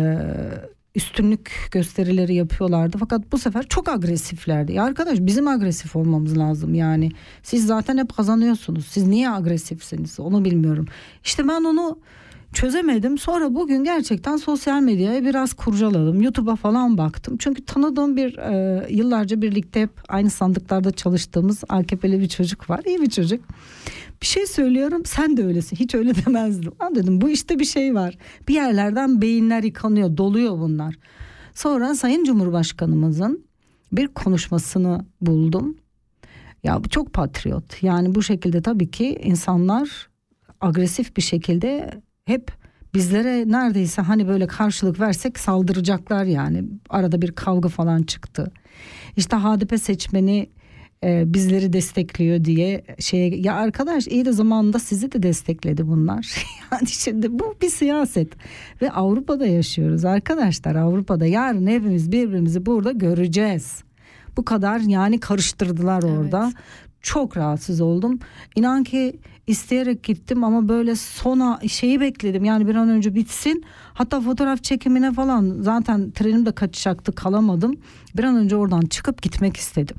üstünlük gösterileri yapıyorlardı. Fakat bu sefer çok agresiflerdi. Ya arkadaş, bizim agresif olmamız lazım yani. Siz zaten hep kazanıyorsunuz. Siz niye agresifsiniz? Onu bilmiyorum. İşte ben onu çözemedim. Sonra bugün gerçekten sosyal medyaya biraz kurcaladım. YouTube'a falan baktım. Çünkü tanıdığım bir yıllarca birlikte hep aynı sandıklarda çalıştığımız AKP'li bir çocuk var. İyi bir çocuk. Bir şey söylüyorum, sen de öylesin. Hiç öyle demezdim. Ben dedim bu işte bir şey var. Bir yerlerden beyinler yıkanıyor, doluyor bunlar. Sonra Sayın Cumhurbaşkanımızın bir konuşmasını buldum. Ya bu çok patriot. Yani bu şekilde tabii ki insanlar agresif bir şekilde hep bizlere neredeyse hani böyle karşılık versek saldıracaklar yani. Arada bir kavga falan çıktı. İşte HDP seçmeni bizleri destekliyor diye ya arkadaş, iyi de zamanında sizi de destekledi bunlar. Yani şimdi bu bir siyaset ve Avrupa'da yaşıyoruz arkadaşlar. Avrupa'da yarın hepimiz birbirimizi burada göreceğiz. Bu kadar yani karıştırdılar orada. Evet. Çok rahatsız oldum. İnan ki isteyerek gittim ama böyle sona bekledim. Yani bir an önce bitsin. Hatta fotoğraf çekimine falan zaten trenim de kaçacaktı, kalamadım. Bir an önce oradan çıkıp gitmek istedim.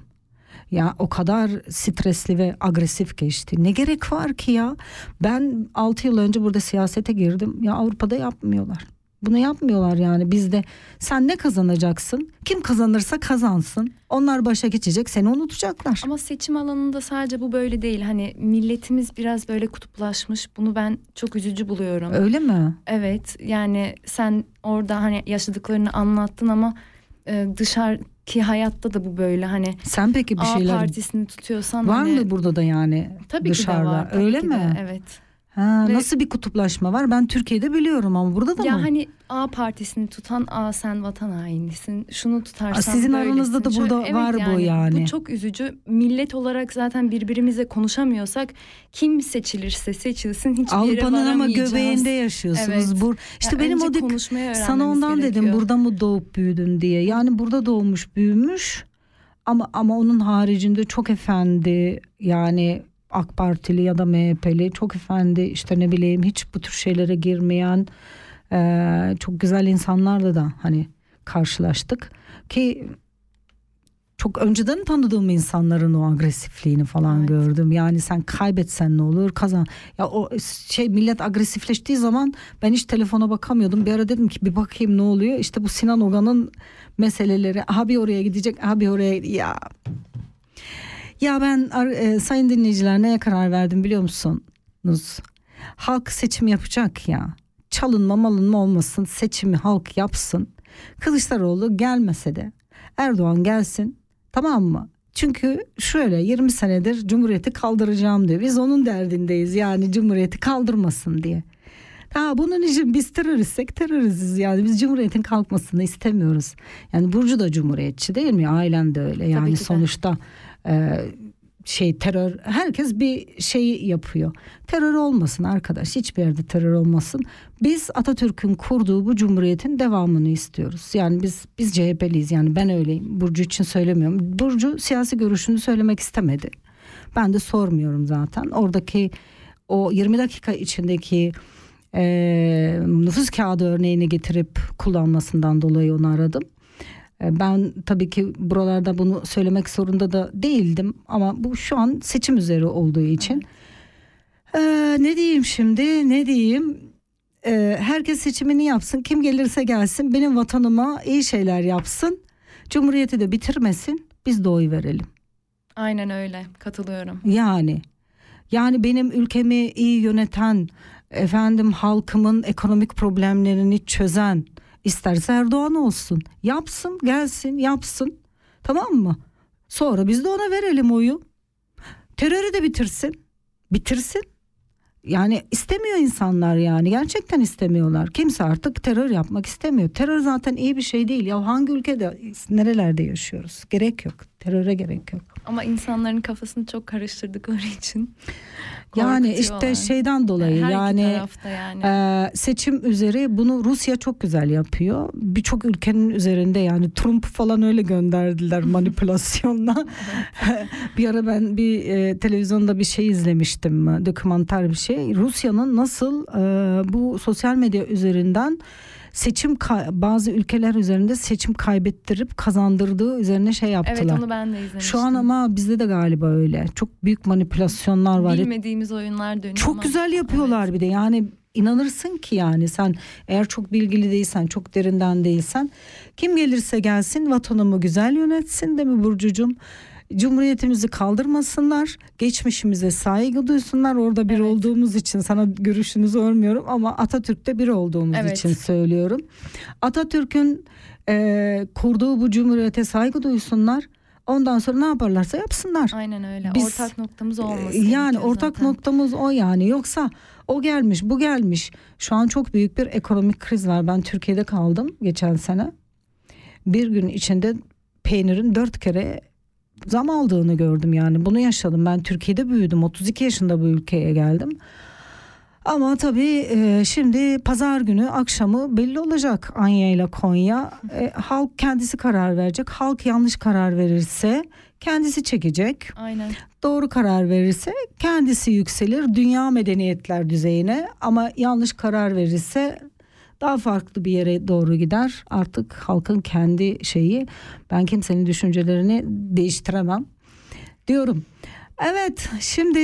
Ya o kadar stresli ve agresif geçti. Ne gerek var ki ya? Ben 6 yıl önce burada siyasete girdim. Ya Avrupa'da yapmıyorlar. Bunu yapmıyorlar yani. Bizde sen ne kazanacaksın? Kim kazanırsa kazansın. Onlar başa geçecek, seni unutacaklar. Ama seçim alanında sadece bu böyle değil. Hani milletimiz biraz böyle kutuplaşmış. Bunu ben çok üzücü buluyorum. Öyle mi? Evet. Yani sen orada hani yaşadıklarını anlattın ama dışarıki hayatta da bu böyle hani. Sen peki bir şeyler partisini tutuyorsan var hani, mı burada da yani tabii dışarıda? Ki de var, tabii öyle ki mi? De, evet. Nasıl bir kutuplaşma var? Ben Türkiye'de biliyorum ama burada da ya mı? Ya hani A partisini tutan sen vatan hainisin. Şunu tutarsan sizin böylesin. aranızda da burada evet, var yani, bu yani. Bu çok üzücü. Millet olarak zaten birbirimize konuşamıyorsak kim seçilirse seçilsin hiçbir yere Avrupa'nın varamayacağız. ama göbeğinde yaşıyorsunuz. Evet. İşte benim o sana ondan gerekiyor. Dedim burada mı doğup büyüdün diye. Yani burada doğmuş büyümüş ama onun haricinde çok efendi yani AK Partili ya da MHP'li çok efendi, işte ne bileyim hiç bu tür şeylere girmeyen çok güzel insanlarla da hani karşılaştık ki çok önceden tanıdığım insanların o agresifliğini falan gördüm. Yani sen kaybetsen ne olur, kazan. Ya o millet agresifleştiği zaman ben hiç telefona bakamıyordum. Bir ara dedim ki bir bakayım ne oluyor. İşte bu Sinan Ogan'ın meseleleri. Abi oraya gidecek, abi oraya Ya ben sayın dinleyiciler neye karar verdim biliyor musunuz? Halk seçim yapacak ya. Çalınma malınma olmasın, seçimi halk yapsın. Kılıçdaroğlu gelmese de Erdoğan gelsin, tamam mı? Çünkü şöyle 20 senedir Cumhuriyeti kaldıracağım diyor. Biz onun derdindeyiz yani Cumhuriyeti kaldırmasın diye. Bunun için biz teröristsek teröriziz yani biz Cumhuriyet'in kalkmasını istemiyoruz. Yani Burcu da Cumhuriyetçi değil mi? Ailem de öyle yani sonuçta terör, herkes bir şey yapıyor. Terör olmasın arkadaş, hiçbir yerde terör olmasın. Biz Atatürk'ün kurduğu bu cumhuriyetin devamını istiyoruz. Yani biz CHP'liyiz, yani ben öyleyim. Burcu için söylemiyorum. Burcu siyasi görüşünü söylemek istemedi. Ben de sormuyorum zaten. Oradaki o 20 dakika içindeki nüfus kağıdı örneğini getirip kullanmasından dolayı onu aradım. Ben tabii ki buralarda bunu söylemek zorunda da değildim ama bu şu an seçim üzeri olduğu için. Ne diyeyim şimdi, ne diyeyim? Herkes seçimini yapsın, kim gelirse gelsin, benim vatanıma iyi şeyler yapsın, Cumhuriyeti de bitirmesin, biz de oy verelim. Aynen öyle, katılıyorum. Yani benim ülkemi iyi yöneten, halkımın ekonomik problemlerini çözen, İsterse Erdoğan olsun. Yapsın, gelsin, yapsın. Tamam mı? Sonra biz de ona verelim oyu. Terörü de bitirsin. Yani istemiyor insanlar yani. Gerçekten istemiyorlar. Kimse artık terör yapmak istemiyor. Terör zaten iyi bir şey değil. Ya hangi ülkede, nerelerde yaşıyoruz? Gerek yok. Teröre gerek yok. Ama insanların kafasını çok karıştırdıkları için yani işte şeyden dolayı yani seçim üzeri bunu Rusya çok güzel yapıyor. Birçok ülkenin üzerinde, yani Trump falan öyle gönderdiler manipülasyonla. Bir ara ben bir televizyonda bir şey izlemiştim, dokümanter bir şey. Rusya'nın nasıl bu sosyal medya üzerinden bazı ülkeler üzerinde seçim kaybettirip kazandırdığı üzerine şey yaptılar. Evet, onu ben de izlemiştim. Şu an ama bizde de galiba öyle. Çok büyük manipülasyonlar var. Bilmediğimiz oyunlar dönüyor. Çok güzel yapıyorlar, evet. Bir de yani inanırsın ki yani sen eğer çok bilgili değilsen, çok derinden değilsen, kim gelirse gelsin vatanımı güzel yönetsin, değil mi Burcucuğum? Cumhuriyetimizi kaldırmasınlar, geçmişimize saygı duysunlar. Orada bir olduğumuz için sana görüşünü sormuyorum ama Atatürk'te bir olduğumuz için söylüyorum. Atatürk'ün kurduğu bu cumhuriyete saygı duysunlar. Ondan sonra ne yaparlarsa yapsınlar. Aynen öyle. Ortak noktamız olması. Yani ortak noktamız o yani. Yoksa o gelmiş, bu gelmiş. Şu an çok büyük bir ekonomik kriz var. Ben Türkiye'de kaldım geçen sene. Bir gün içinde peynirin 4 kere zam aldığını gördüm yani. Bunu yaşadım. Ben Türkiye'de büyüdüm. 32 yaşında bu ülkeye geldim. Ama tabii şimdi pazar günü akşamı belli olacak Anya ile Konya. Halk kendisi karar verecek. Halk yanlış karar verirse kendisi çekecek. Aynen. Doğru karar verirse kendisi yükselir dünya medeniyetler düzeyine. Ama yanlış karar verirse daha farklı bir yere doğru gider. Artık halkın kendi şeyi. Ben kimsenin düşüncelerini değiştiremem diyorum. Evet, şimdi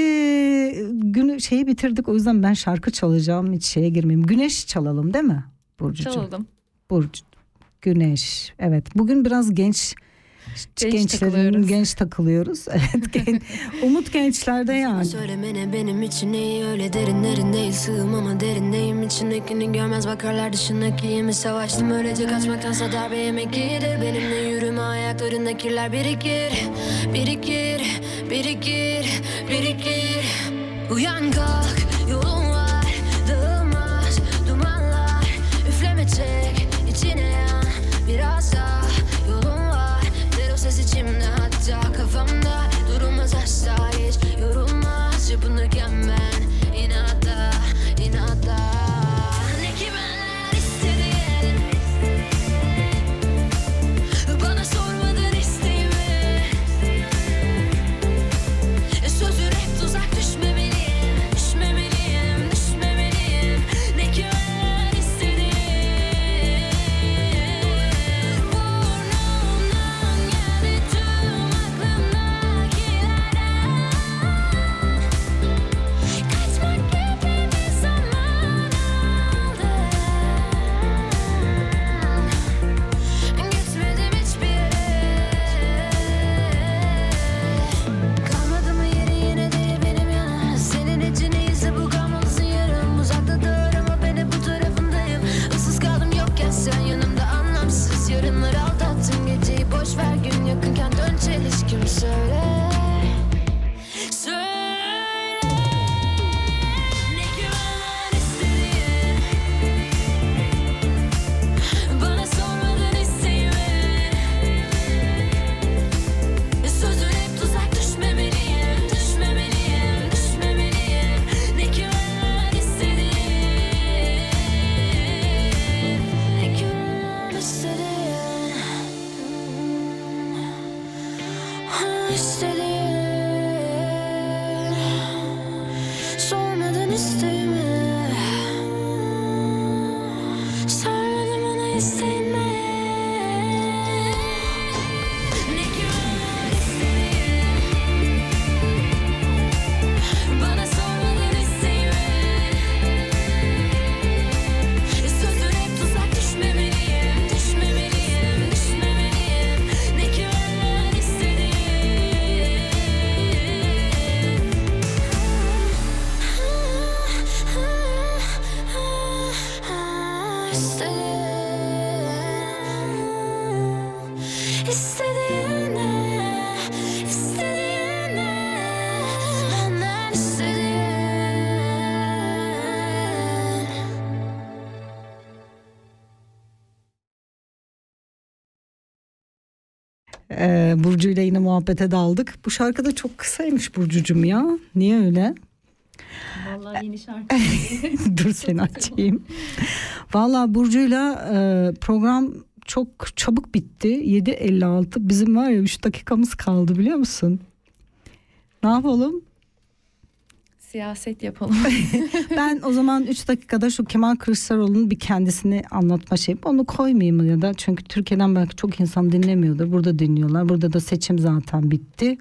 şeyi bitirdik, o yüzden ben şarkı çalacağım, hiç şeye girmeyeyim. Güneş çalalım değil mi Burcucuğum? Çalalım. Burcu, Güneş. Evet, bugün biraz genç takılıyoruz. Evet, umut gençlerde yani. Söylemene benim için iyi, öyle derinlerin değil, sığım ama derindeyim. İçindekini görmez bakarlar, dışındakiyimi savaştım. Öylece kaçmaktansa darbe yemek iyidir. Benimle yürüme, ayaklarında kirler birikir. Uyan kalk, yolun var, dağılmaz dumanlar. Üfleme çek, içine yan, biraz daha yolun var. Der o ses içimde, hatta kafamda, durulmaz asla, hiç yorulmaz. Çırpınırken ben inatla ne kimeler istediğin, bana sormadın isteğimi. Sözü hep tuzak, düşmemeliyim. istediğin, sormadın isteğimi, sarmadın bana isteğimi. Ne güven istediğin, bana sormadın isteğimi. Sözün hep tuzak, düşmemeliyim, düşmemeliyim, düşmemeliyim. Ne güven istediğin, istediğine, istediğine, benden istediğin. Burcu ile yine muhabbete daldık. Bu şarkı da çok kısaymış Burcucuğum ya. Niye öyle? Vallahi yeni şarkı. Dur seni açayım. Vallahi Burcu'yla program çok çabuk bitti. 7.56. Bizim var ya 3 dakikamız kaldı biliyor musun? Ne yapalım? Siyaset yapalım. Ben o zaman 3 dakikada şu Kemal Kılıçdaroğlu'nun bir kendisini anlatma şeyi. Onu koymayayım ya da çünkü Türkiye'den belki çok insan dinlemiyordur. Burada dinliyorlar. Burada da seçim zaten bitti.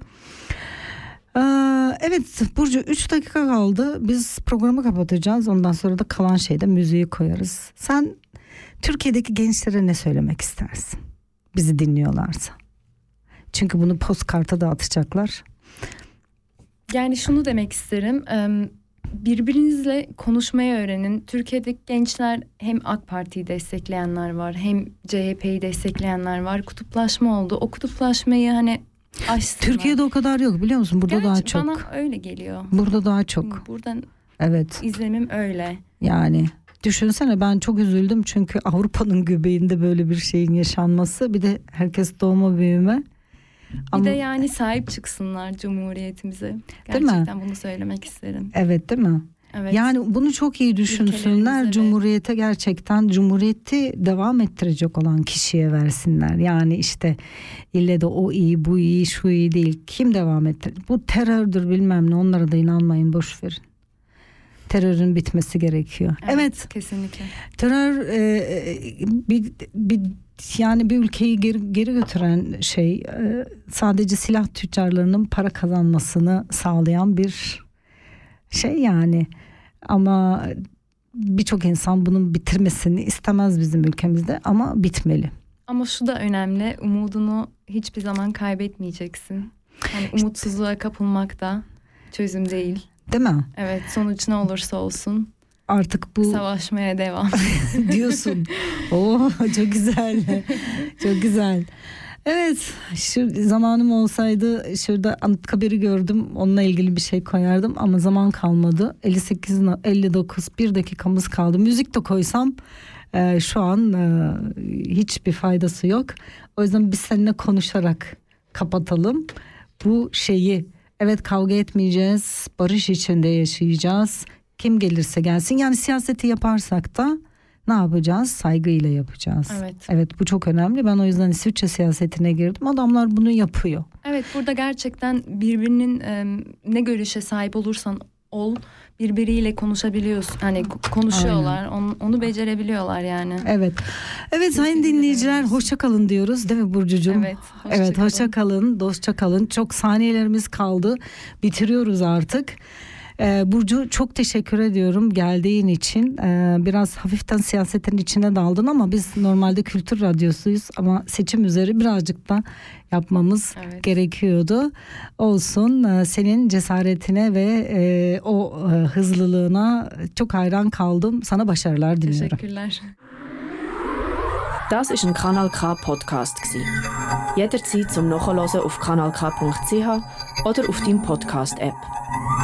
Evet Burcu 3 dakika kaldı. Biz programı kapatacağız. Ondan sonra da kalan şeyde müziği koyarız. Sen Türkiye'deki gençlere ne söylemek istersin? Bizi dinliyorlarsa. Çünkü bunu postkarta dağıtacaklar. Yani şunu demek isterim. Birbirinizle konuşmayı öğrenin. Türkiye'deki gençler hem AK Parti'yi destekleyenler var, hem CHP'yi destekleyenler var. Kutuplaşma oldu. O kutuplaşmayı hani aşsınlar. Türkiye'de o kadar yok biliyor musun? Burada daha çok. Bana öyle geliyor. Burada daha çok. Buradan evet. İzlemim öyle. Yani düşünsene ben çok üzüldüm çünkü Avrupa'nın göbeğinde böyle bir şeyin yaşanması. Bir de herkes doğma büyüme. Bir de yani sahip çıksınlar Cumhuriyetimize. Gerçekten bunu söylemek isterim. Evet değil mi? Evet. Yani bunu çok iyi düşünsünler. Cumhuriyete gerçekten Cumhuriyeti devam ettirecek olan kişiye versinler. Yani işte ille de o iyi bu iyi şu iyi değil. Kim devam ettirecek? Bu terördür bilmem ne, onlara da inanmayın, boş verin. Terörün bitmesi gerekiyor. Evet. Kesinlikle. Terör yani bir ülkeyi geri götüren şey, sadece silah tüccarlarının para kazanmasını sağlayan bir şey yani. Ama birçok insan bunun bitirmesini istemez bizim ülkemizde ama bitmeli. Ama şu da önemli, umudunu hiçbir zaman kaybetmeyeceksin. Yani umutsuzluğa kapılmak da çözüm değil. Değil mi? Evet, sonuç ne olursa olsun. Artık bu savaşmaya devam diyorsun. Oo, çok güzel. Çok güzel. Evet, şu zamanım olsaydı şurada Anıtkabir'i gördüm. Onunla ilgili bir şey koyardım ama zaman kalmadı. 58-59 bir dakikamız kaldı. Müzik de koysam şu an hiçbir faydası yok. O yüzden biz seninle konuşarak kapatalım bu şeyi. Evet, kavga etmeyeceğiz. Barış içinde yaşayacağız. Kim gelirse gelsin. Yani siyaseti yaparsak da ne yapacağız? Saygıyla yapacağız. Evet. Evet, bu çok önemli. Ben o yüzden İsviçre siyasetine girdim. Adamlar bunu yapıyor. Evet, burada gerçekten birbirinin ne görüşe sahip olursan ol, birbiriyle konuşabiliyorsun. Hani konuşuyorlar. Onu becerebiliyorlar yani. Evet. Evet sayın dinleyiciler, hoşça kalın diyoruz değil mi Burcucuğum? Evet. Hoşça kalın, dostça kalın. Çok saniyelerimiz kaldı. Bitiriyoruz artık. Burcu çok teşekkür ediyorum geldiğin için. Biraz hafiften siyasetin içine daldın ama biz normalde kültür radyosuyuz ama seçim üzeri birazcık da yapmamız gerekiyordu. Olsun, senin cesaretine ve o hızlılığına çok hayran kaldım. Sana başarılar diliyorum. Teşekkürler. Das ist ein Kanal K Podcast gsi. Jederzeit zum Nachhören auf kanalk.ch oder auf deinem Podcast App.